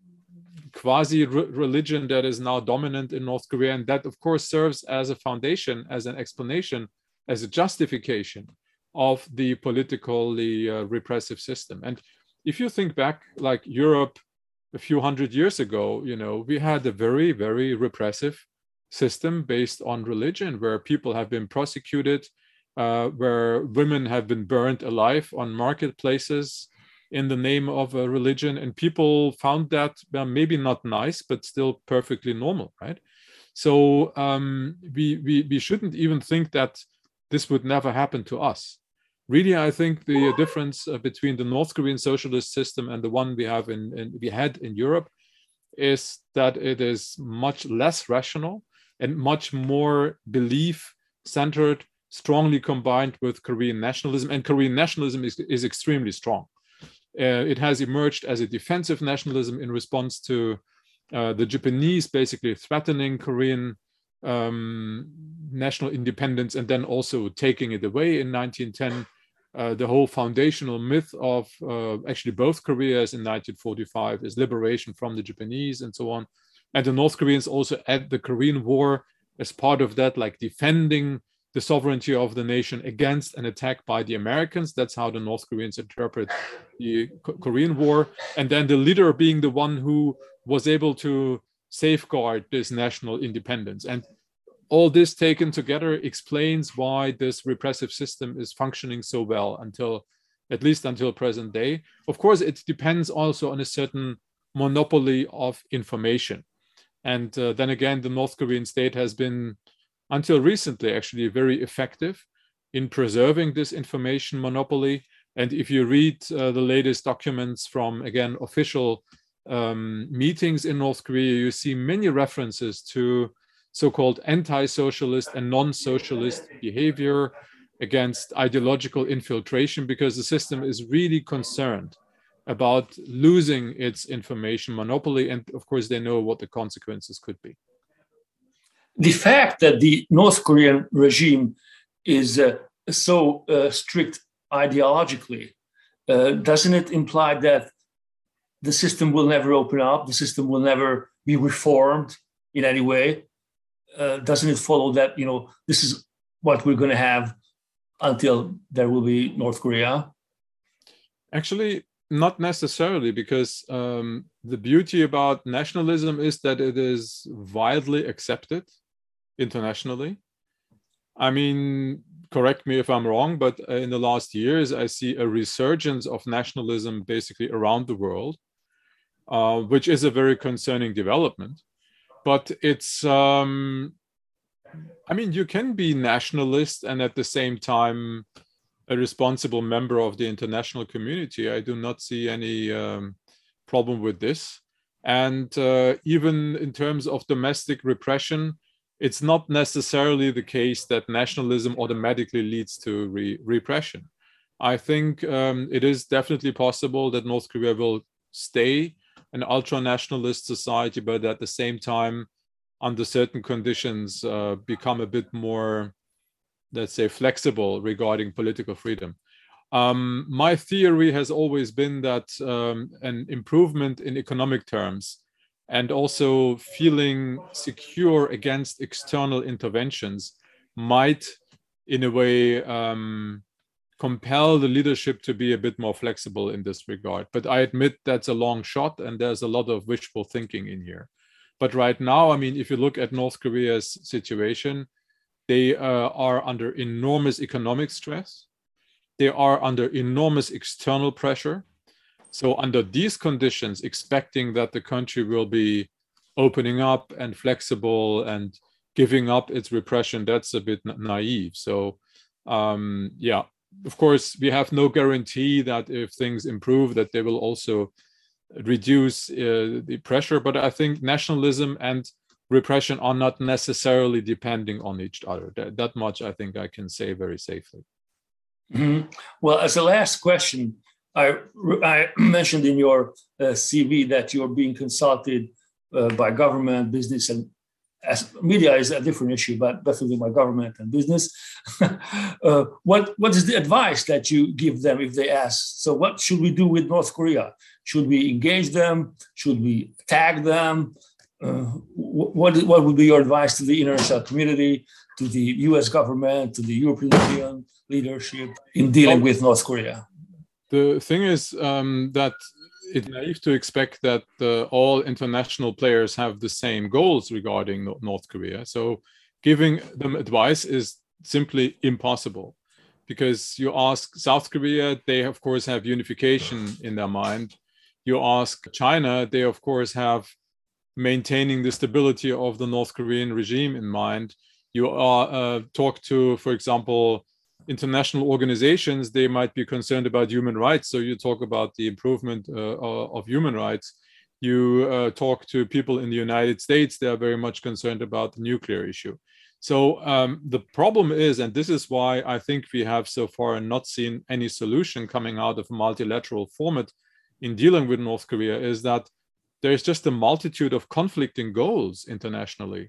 quasi religion that is now dominant in North Korea. And that, of course, serves as a foundation, as an explanation, as a justification of the politically uh, repressive system. And if you think back, like Europe a few hundred years ago, you know, we had a very, very repressive system based on religion, where people have been prosecuted, uh, where women have been burned alive on marketplaces in the name of a religion. And people found that well, maybe not nice, but still perfectly normal, right? So um, we, we, we shouldn't even think that this would never happen to us. Really, I think the difference between the North Korean socialist system and the one we have in, in we had in Europe is that it is much less rational and much more belief-centered, strongly combined with Korean nationalism. And Korean nationalism is, is extremely strong. Uh, it has emerged as a defensive nationalism in response to uh, the Japanese basically threatening Korean um, national independence and then also taking it away in nineteen ten. Uh, the whole foundational myth of uh, actually both Koreas in nineteen forty-five is liberation from the Japanese and so on. And the North Koreans also at the Korean War as part of that, like defending the sovereignty of the nation against an attack by the Americans. That's how the North Koreans interpret the Korean War. And then the leader being the one who was able to safeguard this national independence. And all this taken together explains why this repressive system is functioning so well until, at least until present day. Of course, it depends also on a certain monopoly of information. And uh, then again, the North Korean state has been, until recently, actually very effective in preserving this information monopoly. And if you read uh, the latest documents from, again, official um, meetings in North Korea, you see many references to so-called anti-socialist and non-socialist behavior against ideological infiltration, because the system is really concerned about losing its information monopoly. And of course, they know what the consequences could be. The fact that the North Korean regime is uh, so uh, strict ideologically, uh, doesn't it imply that the system will never open up, the system will never be reformed in any way? Uh, doesn't it follow that, you know, this is what we're going to have until there will be North Korea? Actually, not necessarily, because um, the beauty about nationalism is that it is widely accepted internationally. I mean, correct me if I'm wrong, but in the last years, I see a resurgence of nationalism basically around the world, uh, which is a very concerning development. But it's, um, I mean, you can be nationalist and at the same time a responsible member of the international community. I do not see any um, problem with this. And uh, even in terms of domestic repression, it's not necessarily the case that nationalism automatically leads to re repression. I think um, it is definitely possible that North Korea will stay an ultra-nationalist society, but at the same time, under certain conditions, uh, become a bit more, let's say, flexible regarding political freedom. Um, my theory has always been that um, an improvement in economic terms and also feeling secure against external interventions might, in a way, um, compel the leadership to be a bit more flexible in this regard. But I admit that's a long shot and there's a lot of wishful thinking in here. But right now, I mean, if you look at North Korea's situation, they uh, are under enormous economic stress. They are under enormous external pressure. So under these conditions, expecting that the country will be opening up and flexible and giving up its repression, that's a bit naive. So um, yeah, of course, we have no guarantee that if things improve, that they will also reduce uh, the pressure. But I think nationalism and repression are not necessarily depending on each other. That, that much I think I can say very safely. Mm-hmm. Well, as a last question, I, I mentioned in your uh, C V that you're being consulted uh, by government, business, and as media is a different issue, but definitely by government and business. uh, what what is the advice that you give them if they ask? So, what should we do with North Korea? Should we engage them? Should we tag them? Uh, what what would be your advice to the international community, to the U S government, to the European Union leadership in dealing with North Korea? The thing is um, that it's naive to expect that uh, all international players have the same goals regarding North Korea. So giving them advice is simply impossible, because you ask South Korea, they of course have unification in their mind. You ask China, they of course have maintaining the stability of the North Korean regime in mind. You are uh, talk to, for example, international organizations, they might be concerned about human rights. So you talk about the improvement uh, of human rights. You uh, talk to people in the United States, they are very much concerned about the nuclear issue. So um, the problem is, and this is why I think we have so far not seen any solution coming out of a multilateral format in dealing with North Korea, is that there's just a multitude of conflicting goals internationally.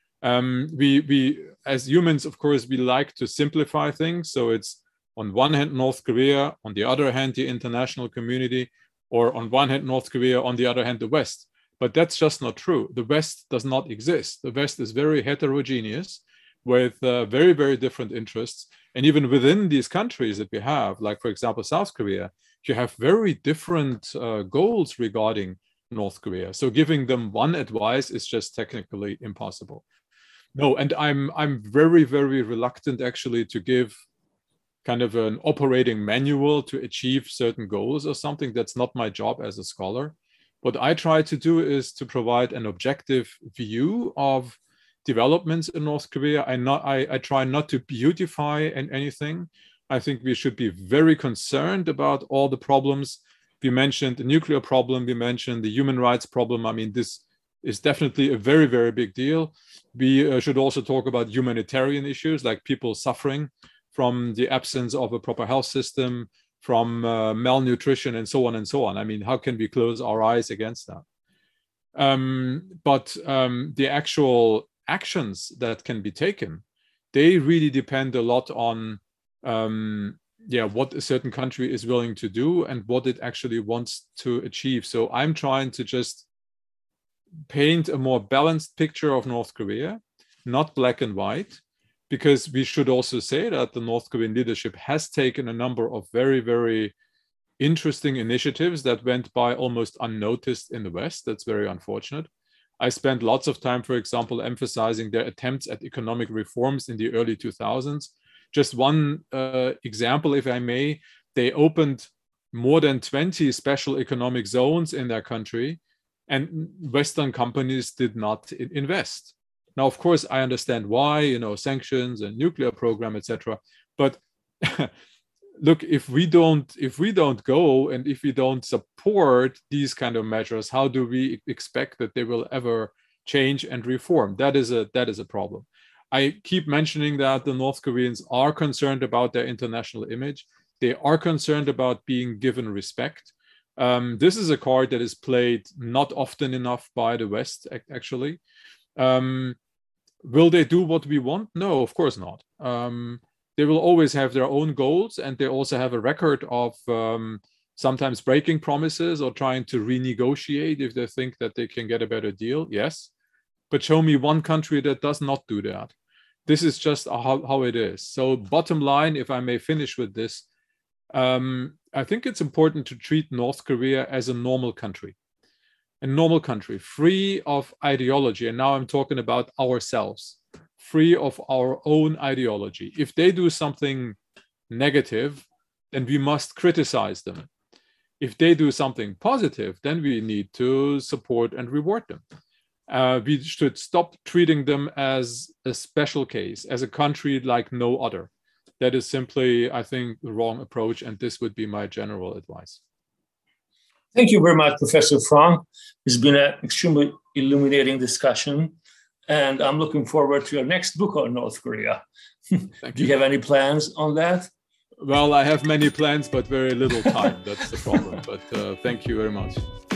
Um, we, we, as humans, of course, we like to simplify things. So it's on one hand, North Korea, on the other hand, the international community, or on one hand, North Korea, on the other hand, the West. But that's just not true. The West does not exist. The West is very heterogeneous with uh, very, very different interests. And even within these countries that we have, like, for example, South Korea, you have very different uh, goals regarding North Korea. So giving them one advice is just technically impossible. No, and I'm I'm very, very reluctant actually to give kind of an operating manual to achieve certain goals or something. That's not my job as a scholar. What I try to do is to provide an objective view of developments in North Korea. I not I, I try not to beautify anything. I think we should be very concerned about all the problems. We mentioned the nuclear problem, we mentioned the human rights problem. I mean, this is definitely a very, very big deal. We uh, should also talk about humanitarian issues, like people suffering from the absence of a proper health system, from uh, malnutrition, and so on and so on. I mean, how can we close our eyes against that? Um, but um, the actual actions that can be taken, they really depend a lot on um, yeah, what a certain country is willing to do and what it actually wants to achieve. So I'm trying to just paint a more balanced picture of North Korea, not black and white, because we should also say that the North Korean leadership has taken a number of very, very interesting initiatives that went by almost unnoticed in the West. That's very unfortunate. I spent lots of time, for example, emphasizing their attempts at economic reforms in the early two thousands. Just one uh, example, if I may, they opened more than twenty special economic zones in their country, and Western companies did not invest. Now, of course, I understand why, you know, sanctions and nuclear program, et cetera. But look, if we don't, if we don't go and if we don't support these kind of measures, how do we expect that they will ever change and reform? That is a that is a problem. I keep mentioning that the North Koreans are concerned about their international image. They are concerned about being given respect. Um, this is a card that is played not often enough by the West, actually. Um, will they do what we want? No, of course not. Um, they will always have their own goals, and they also have a record of um, sometimes breaking promises or trying to renegotiate if they think that they can get a better deal. Yes, but show me one country that does not do that. This is just how, how it is. So bottom line, if I may finish with this, um, I think it's important to treat North Korea as a normal country. A normal country, free of ideology. And now I'm talking about ourselves, free of our own ideology. If they do something negative, then we must criticize them. If they do something positive, then we need to support and reward them. Uh, we should stop treating them as a special case, as a country like no other. That is simply, I think, the wrong approach, and this would be my general advice. Thank you very much, Professor Frank. It's been an extremely illuminating discussion. and I'm looking forward to your next book on North Korea. Thank Do you have any plans on that? Well, I have many plans, but very little time. That's the problem. But uh, thank you very much.